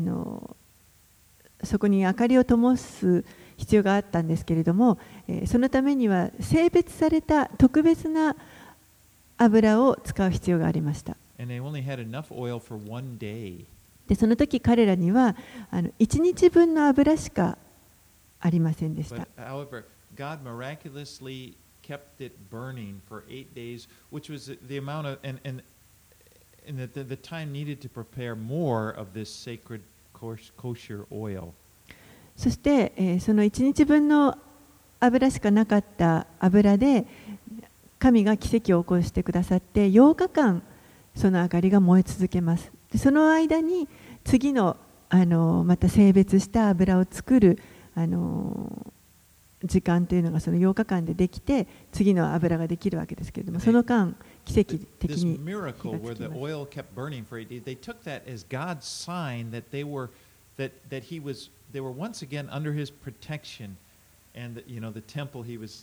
そこに明かりを灯す必要があったんですけれども、そのためには性別された特別な油を使う必要がありました。で、その時彼らには1日分の油しかありませんでした。 God miraculously kept it burning for 8 days, which was the amount of and the time needed to prepare more of this sacred kosher oil. そして、その1日分の油しかなかった油で神が奇跡を起こしてくださって8日間その明かりが燃え続けます。でその間に次のまた性別した油を作る時間というのがその8日間でできて次の油ができるわけですけれども、その間奇跡的に火がつきます。 They were once again under his protection, and the temple he was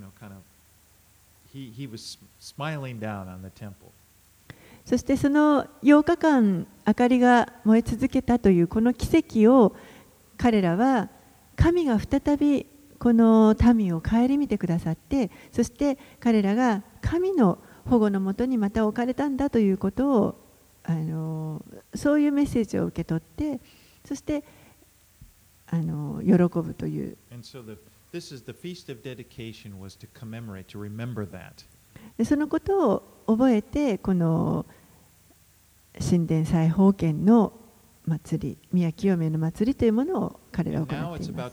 he was smiling down on the temple. そしてその8日間明かりが燃え続けたというこの奇跡を彼らは神が再びこの民を顧みてくださって、そして彼らが神の保護のもとにまた置かれたんだということをそういうメッセージを受け取って、そして喜ぶという。そのことを覚えて、この神殿再奉献の祭り、宮清めの祭りというものを彼らは行っています。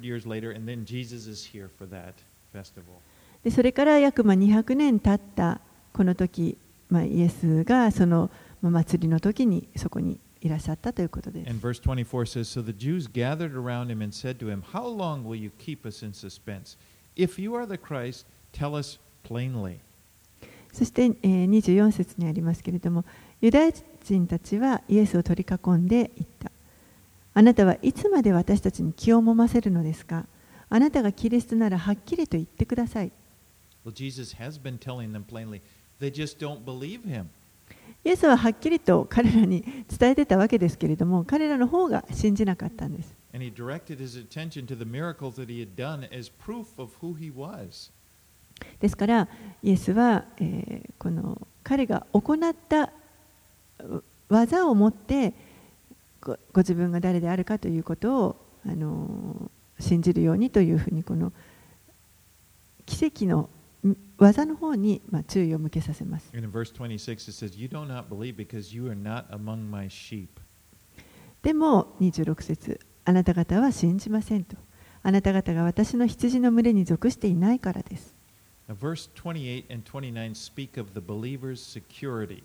でそれから約200年経ったこの時、イエスがその祭りの時にそこにいらっしゃったということです。 And verse 24 says, So the Jews gathered around him and said to him, How long will you keep us in suspense? If you are the Christ, tell us plainly. そして24節にありますけれども、ユダヤ人たちはイエスを取り囲んで言った。あなたはいつまで私たちに気をもませるのですか？あなたがキリストならはっきりと言ってください。 Well, Jesus has been telling them plainly. They just don't believe him. イエスははっきりと彼らに伝えてたわけですけれども、彼らの方が信じなかったんです。 And he directed his attention to the miracles that he had done as proof of who he was. ですからイエスは、この彼が行った技をもってご自分が誰であるかということを、信じるようにというふうに、この奇跡の技の方に、注意を向けさせます。 And in verse 26 it says, "You do not believe because you are not among my sheep." でも26節、あなた方は信じませんと。あなた方が私の羊の群れに属していないからです。 Now, verse 28 and 29 speak of the believer's security.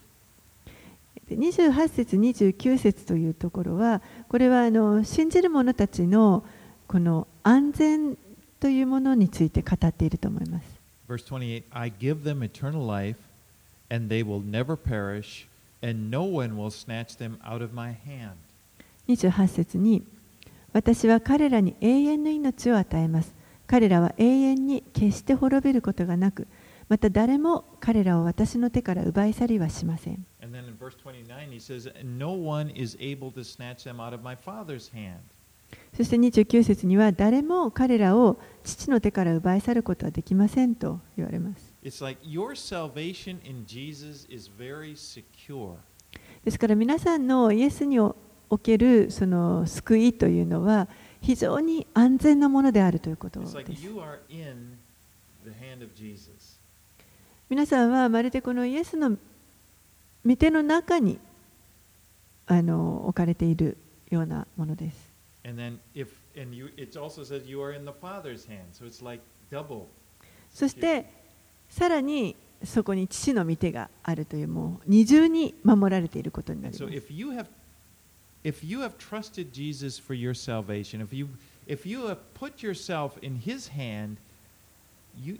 28節29節というところは、これは信じる者たちのこの安全というものについて語っていると思います。 Verse 28, I give them eternal life, and they will never perish, and no one will snatch them out of my hand. 28節に、私は彼らに永遠の命を与えます。彼らは永遠に決して滅びることがなく、また誰も彼らを私の手から奪い去りはしません。 And then in verse 29 he says, no one is able to snatch them out of my Father's hand. そして29節には、誰も彼らを父の手から奪い去ることはできませんと言われます。 It's like your salvation in Jesus is very secure. ですから皆さんのイエスにおけるその救いというのは非常に安全なものであるということです。 It's like you are in the hand of Jesus. 皆さんはまるでこのイエスの御手の中に置かれているようなものです。 And then it also says you are in the Father's hand. So it's like double. そしてさらにそこに父の御手があるという、もう二重に守られていることになります。 So if you have trusted Jesus for your salvation, if you have put yourself in His hand, you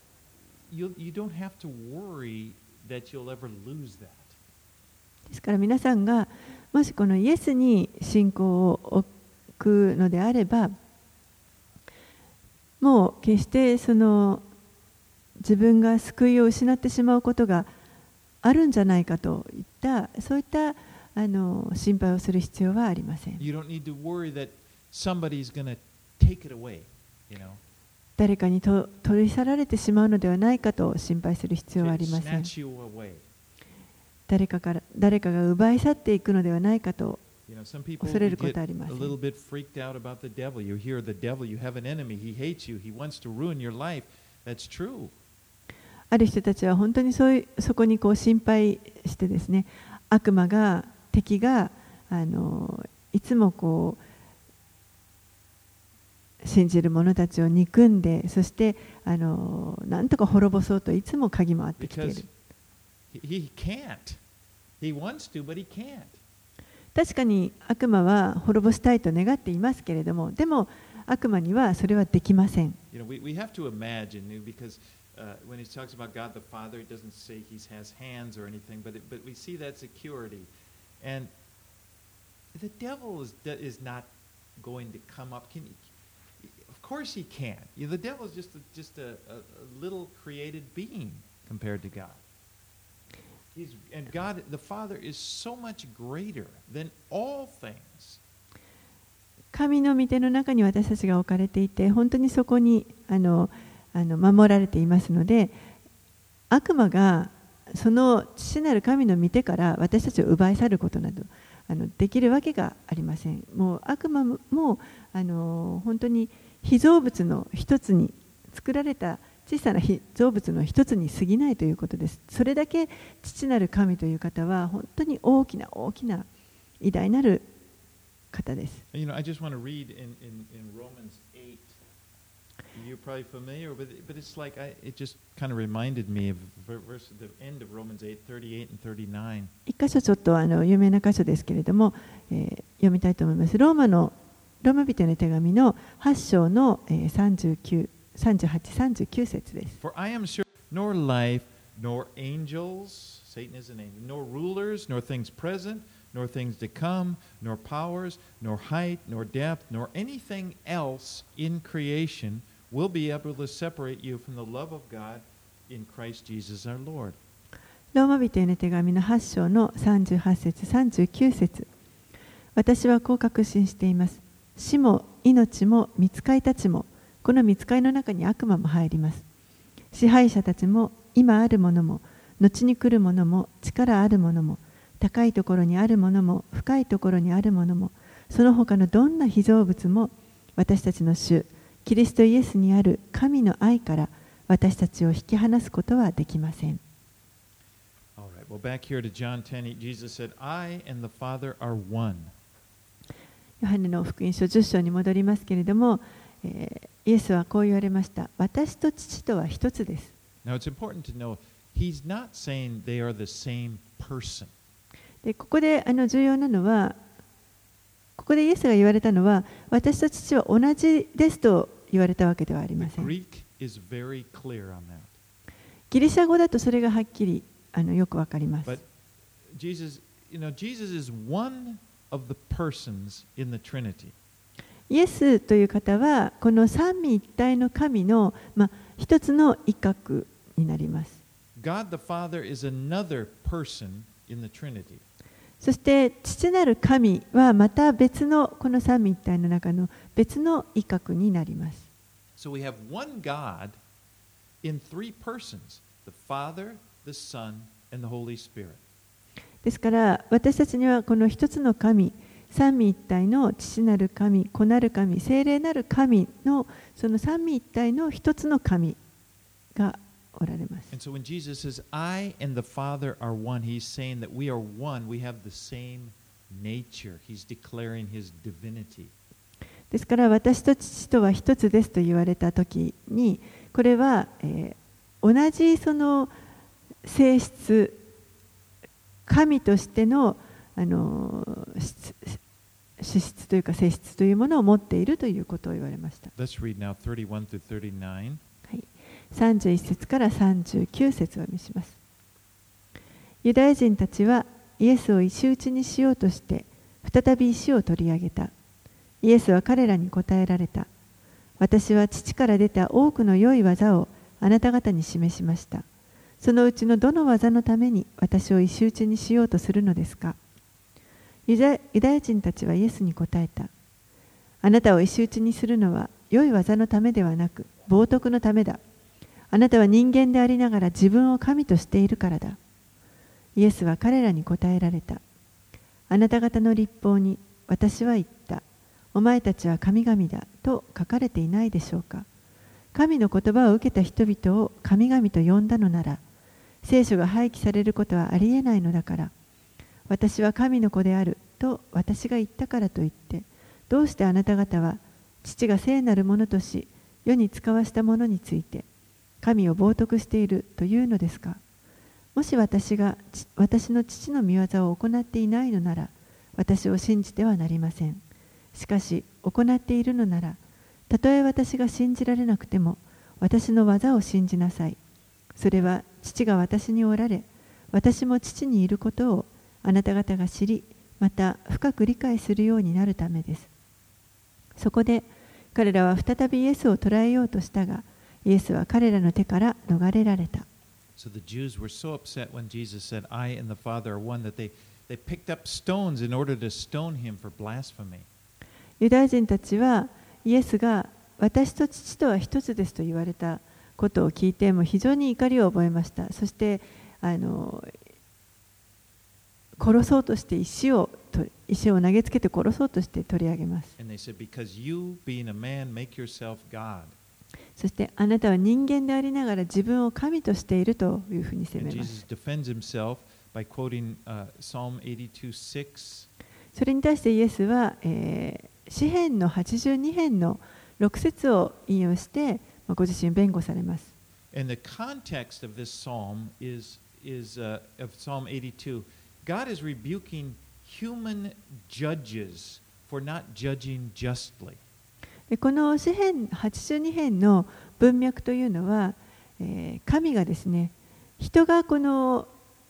don't have to worry that you'll ever lose that. ですから皆さんがもしこのイエスに信仰を置くのであれば、もう決してその自分が救いを失ってしまうことがあるんじゃないかといったそういった心配をする必要はありません。 You don't need to worry that somebody's going to take it away, you know. 誰かに取り去られてしまうのではないかと心配する必要はありません。 Snatch you away. 誰かが奪い去っていくのではないかと You know, some people 恐れるこ get とはあ a りません。 little bit freaked out about the devil. You hear the devil, you have an enemy, he hates you, he wants to ruin your life. That's true. ある人たちは本当にそこにこう心配してですね、悪魔が敵がいつもこう信じる者たちを憎んで、そしてなんとか滅ぼそうといつも鍵回ってきてい Because る。 he can't. He wants to, but he can't. 確かに悪魔は滅ぼしたいと願っていますけれども、でも悪魔にはそれはできません。 You know, we have to imagine, because when he talks about God the Father, it doesn't say he has hands or anything, but we see that security. And the devil is not going to come up. Of course he can't. The devil is just a little created being compared to God. And God, the Father, is so much greater than all things. 神の御手の中に私たちが置かれていて、本当にそこに守られていますので、悪魔がその父なる神の御手から私たちを奪い去ることなどできるわけがありません。もう悪魔も本当に被造物の一つに、作られた小さな被造物の一つに過ぎないということです。それだけ父なる神という方は本当に大きな大きな偉大なる方です。 You know, I just want to read in Romans 8. You're probably familiar, but it's like it just kind of reminded me of the end of Romans 8:38 and 39. 一箇所ちょっと有名な箇所ですけれども、読みたいと思います。ローマ人の手紙の8章の38、39節です。 For I am sure nor life, nor angels, Satan is an angel, nor rulers, nor things present, nor things to come, nor powers, nor height, nor depth, nor anything else in creation will be able to separate you from the love of God in Christ Jesus our Lord. ローマ人への手紙の8章の38節39節。私はこう確信しています。死も命も御使いたちも、この御使いの中に悪魔も入ります。支配者たちも、今あるものも、後に来るものも、力あるものも、高いところにあるものも、深いところにあるものも、その他のどんな被造物も、私たちの主、キリストイエスにある神の愛から私たちを引き離すことはできません。 Well, back here to John 10, Jesus said, I and the Father are one. ヨハネの福音書10章に戻りますけれども、イエスはこう言われました。私と父とは一つです。 Now it's important to know, he's not saying they are the same person. でここで重要なのは、ここでイエスが言われたのは、私と父は同じですと言われたわけではありません。 The Greek is very clear on that. ギリシャ語だとそれがはっきりよくわかります。 But Jesus is one of the persons in the Trinity. イエスという方はこの三位一体の神の、一つの一角になります。 God the Father is another person in the Trinity. そして父なる神はまた別のこの三位一体の中の別の一角になります。 So we have one God in three persons, the Father, the Son, and the Holy Spirit. ですから私たちにはこの一つの神、三位一体の父なる神、子なる神、聖霊なる神のその三位一体の一つの神がおられます。 And so when Jesus says, I and the Father are one, he's saying that we are one, we have the same nature. He's declaring his divinity. ですから私と父とは一つですと言われたときに、これは、同じその性質、神としての、資質というか性質というものを持っているということを言われました。 Let's read now 31 through 39. はい、31節から39節を見します。ユダヤ人たちはイエスを石打ちにしようとして再び石を取り上げた。イエスは彼らに答えられた。私は父から出た多くの良い技をあなた方に示しました。そのうちのどの技のために私を石打ちにしようとするのですか。ユダヤ人たちはイエスに答えた。あなたを石打ちにするのは良い技のためではなく冒涜のためだ。あなたは人間でありながら自分を神としているからだ。イエスは彼らに答えられた。あなた方の律法に私は言った。お前たちは神々だと書かれていないでしょうか。神の言葉を受けた人々を神々と呼んだのなら、聖書が廃棄されることはありえないのだから、私は神の子であると私が言ったからといって、どうしてあなた方は父が聖なるものとし、世に使わしたものについて、神を冒涜しているというのですか。もし私が私の父の御業を行っていないのなら、私を信じてはなりません。しかし、行っているのなら、たとえ私が信じられなくても、私の技を信じなさい。それは父が私におられ、私も父にいることをあなた方が知り、また深く理解するようになるためです。そこで彼らは再びイエスを捕らえようとしたが、イエスは彼らの手から逃れられた。 So the Jews were so upset when Jesus said, I and the Father are one, that they picked up stones in order to stone him for blasphemy. ユダヤ人たちはイエスが私と父とは一つですと言われたことを聞いても非常に怒りを覚えました。そして殺そうとして石を投げつけて殺そうとして取り上げます。 And they said, Because you, being a man, make yourself God. そしてあなたは人間でありながら自分を神としているというふうに責 And めます。 Jesus defends himself by quoting Psalm 82:6. それに対してイエスは、詩編の82編の6節を引用して、ご自身弁護されます。 And the context of this psalm is of Psalm 82. God is rebuking human judges for not judging justly. でこの詩編82編の文脈というのは、神がですね、人がこの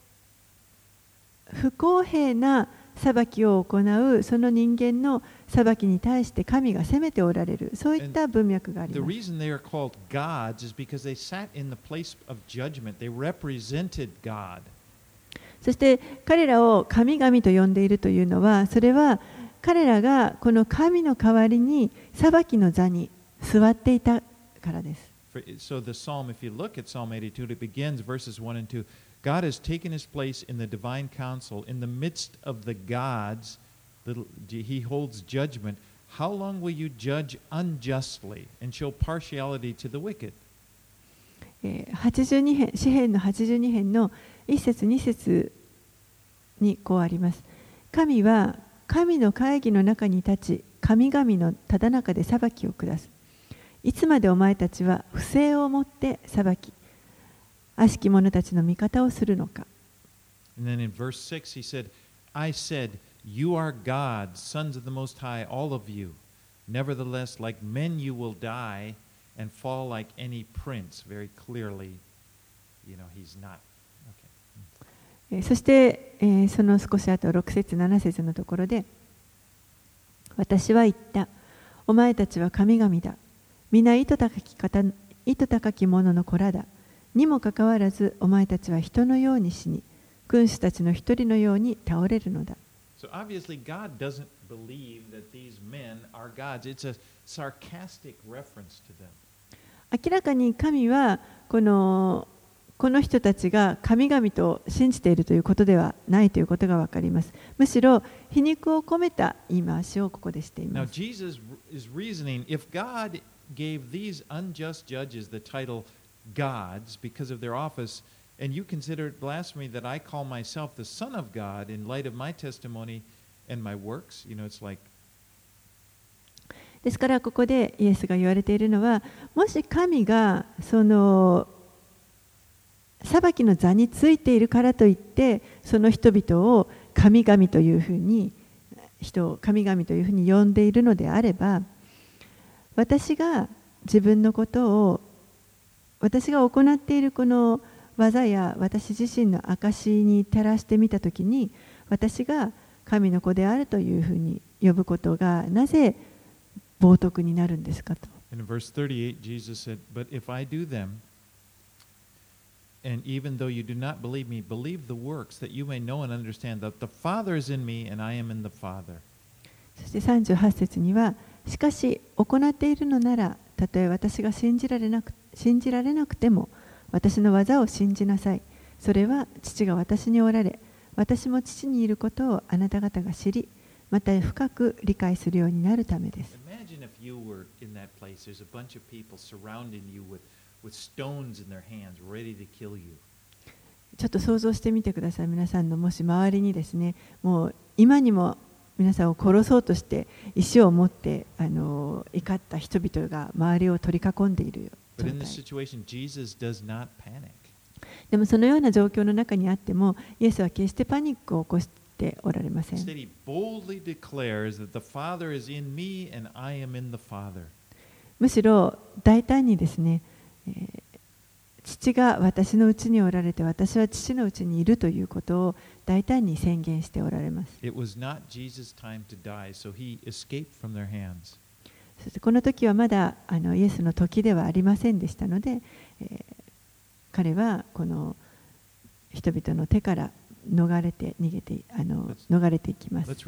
不公平な裁きを行うその人間の裁きに対して神が責めておられる、そういった文脈があり The ます。 reason they are called gods is because they sat in the place of judgment. They represented God. そして彼らを神々と呼んでいるというのは、それは彼らがこの神の代わりに裁きの座に座っていたからです。 So the psalm, if you look at Psalm 82, it begins verses 1 and 2. God has taken his place in the divine council. In the midst of the gods, he holds judgment. How long will you judge unjustly and show partiality to the wicked? 82編、詩編の82編の1節2節にこうあります。神は神の会議の中に立ち、神々のただ中で裁きを下す。いつまでお前たちは不正をもって裁き、悪しき者たちの味方をするのか。 And then in verse 6 he said, I said, you are gods, sons of the Most High, all of you. Nevertheless, like men you will die and fall like any prince. Very clearly, he's not. Okay. そして、その少し後6節7節のところで、私は言った。お前たちは神々だ。皆糸高き者の子らだ。にもかかわらず、お前たちは人のように死に、君主たちの一人のように倒れるのだ。 So obviously God doesn't believe that these men are gods. It's a sarcastic reference to them. 明らかに神はこの人たちが神々と信じているということではないということがわかります。むしろ皮肉を込めた言い回しをここでしています。 Now Jesus is reasoning, if God gave these unjust judges the title gods because of their office, and you consider it blasphemy that I call myself the Son of God in light of my testimony and my works, it's like. ですからここでイエスが言われているのは、もし神がその裁きの座についているからといって、その人々を神々というふうに神々というふうに呼んでいるのであれば、私が自分のことを私が行っているこの技や私自身の証に照らしてみたときに、私が神の子であるというふうに呼ぶことがなぜ冒涜になるんですかと。 In verse 38, Jesus said, But if I do them, and even though you do not believe me, believe the works, that you may know and understand that the Father is in me and I am in the Father. そして38節には、しかし行っているのなら、たとえ私が信じられなくても、私の技を信じなさい。それは父が私におられ、私も父にいることをあなた方が知り、また深く理解するようになるためです。 Imagine if you were in that place, there's a bunch of people surrounding you with stones in their hands, ready to kill you. ちょっと想像してみてください。皆さんのもし周りにですね、もう今にも皆さんを殺そうとして石を持って怒った人々が周りを取り囲んでいる状態。でもそのような状況の中にあっても、イエスは決してパニックを起こしておられません。むしろ大胆にですね、父が私のうちにおられて、私は父のうちにいるということを大胆に宣言しておられます。そしてこの時はまだイエスの時ではありませんでしたので、彼はこの人々の手から逃れていきます。はい、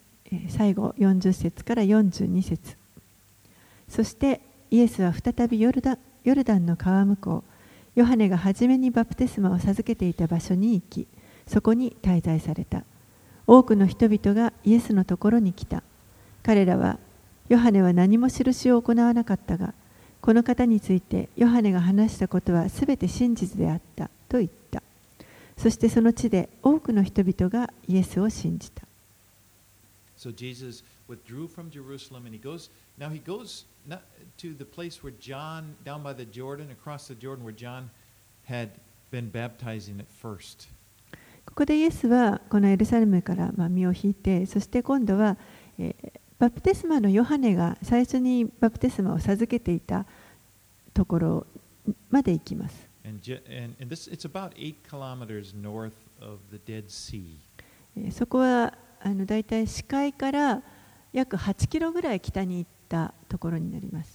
最後40節から42節。そしてイエスは再びヨルダンの川向こう、ヨハネが初めにバプテスマを授けていた場所に行き、そこに滞在された。多くの人々がイエスのところに来た。彼らは、ヨハネは何も印を行わなかったが、この方についてヨハネが話したことはすべて真実であったと言った。そしてその地で多くの人々がイエスを信じた。 So Jesus withdrew from Jerusalem and he goes not to the place where John, down by the Jordan, across the Jordan, where John had been baptizing at first. ここでイエスはこのエルサレムから身を引いて、そして今度は、バプテスマのヨハネが最初にバプテスマを授けていたところまで行きます。 And this, it's about 8 kilometers north of the Dead Sea. そこはだいたい死海から約8キロぐらい北に行ったところになります。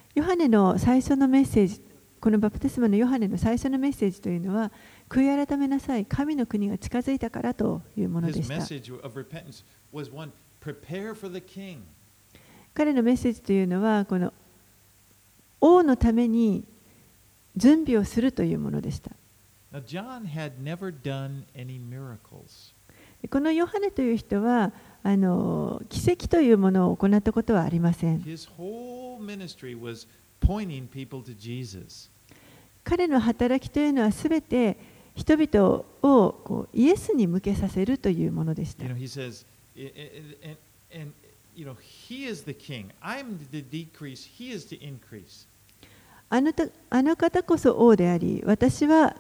ヨハネの最初のメッセージ、このバプテスマのヨハネの最初のメッセージというのは、悔い改めなさい、神の国が近づいたからというもので His した。 message of repentance was one, prepare for the king. 彼のメッセージというのは、この王のために準備をするというものでした。 Now, John had never done any miracles. このヨハネという人は奇跡というものを行ったことはありません。 His whole ministry was pointing people to Jesus. 彼の働きというのはすべて人々をこうイエスに向けさせるというものでした。 You know, he says, and you know, he is the king. I'm the decrease. He is the increase. あの方こそ王であり、私は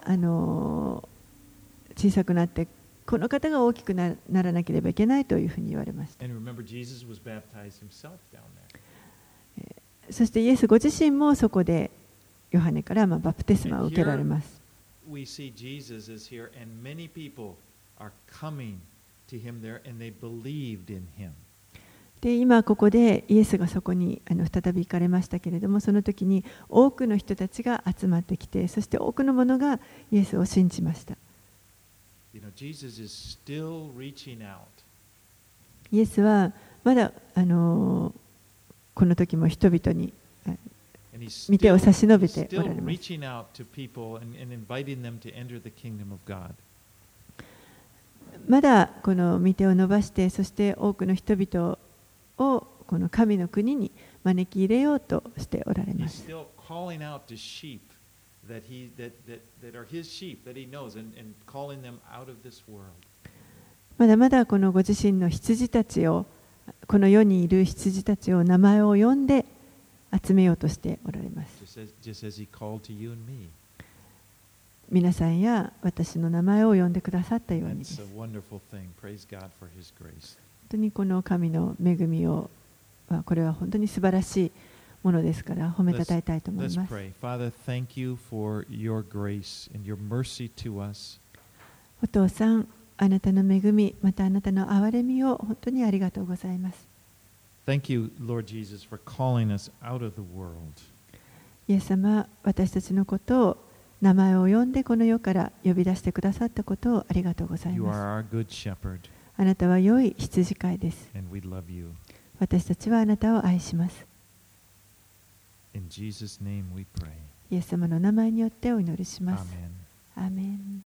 小さくなってこの方が大きくならなければいけないというふうに言われました。 And remember, Jesus was baptized himself down there. そしてイエスご自身もそこでヨハネからバプテスマを受けられます。 We see Jesus is here, and many people are coming to him there, and they believed in him. で今ここでイエスがそこに再び行かれましたけれども、その時に多くの人たちが集まってきて、そして多くの者がイエスを信じました。 You know, Jesus is still reaching out. イエスはまだこの時も人々に And he's 御手を差し伸べ still ておられます。 reaching out to people and inviting them to enter the kingdom of God. まだこの御手を伸ばして、そして多くの人々をこの神の国に招き入れようとしておられま He's す。 still calling out to sheep that are his sheep that he knows and calling them out of this world. まだまだこのご自身の羊たちを、この世にいる羊たちを名前を呼んで集めようとしておられます。 Just as he called to you and me. 皆さんや私の名前を呼んでくださったようにで That's す。 a wonderful thing. Praise God for his grace. 本当にこの神の恵みを、これは本当に素晴らしいものですから褒めたたえたいと思い Let's ます。 pray. Father, thank you for your grace and your mercy to us. お父さん、あなたの恵み、またあなたの憐れみを本当にありがとうございます。 Thank you, Lord Jesus, for calling us out of the world. イエス様、私たちのことを名前を呼んでこの世から呼び出してくださったことをありがとうござい You ます。 are our good shepherd, あなたは良い羊飼いです。 and we love you. 私たちはあなたを愛します。 In Jesus' name we pray. イエス様の名前によってお祈りします。 Amen. アーメン。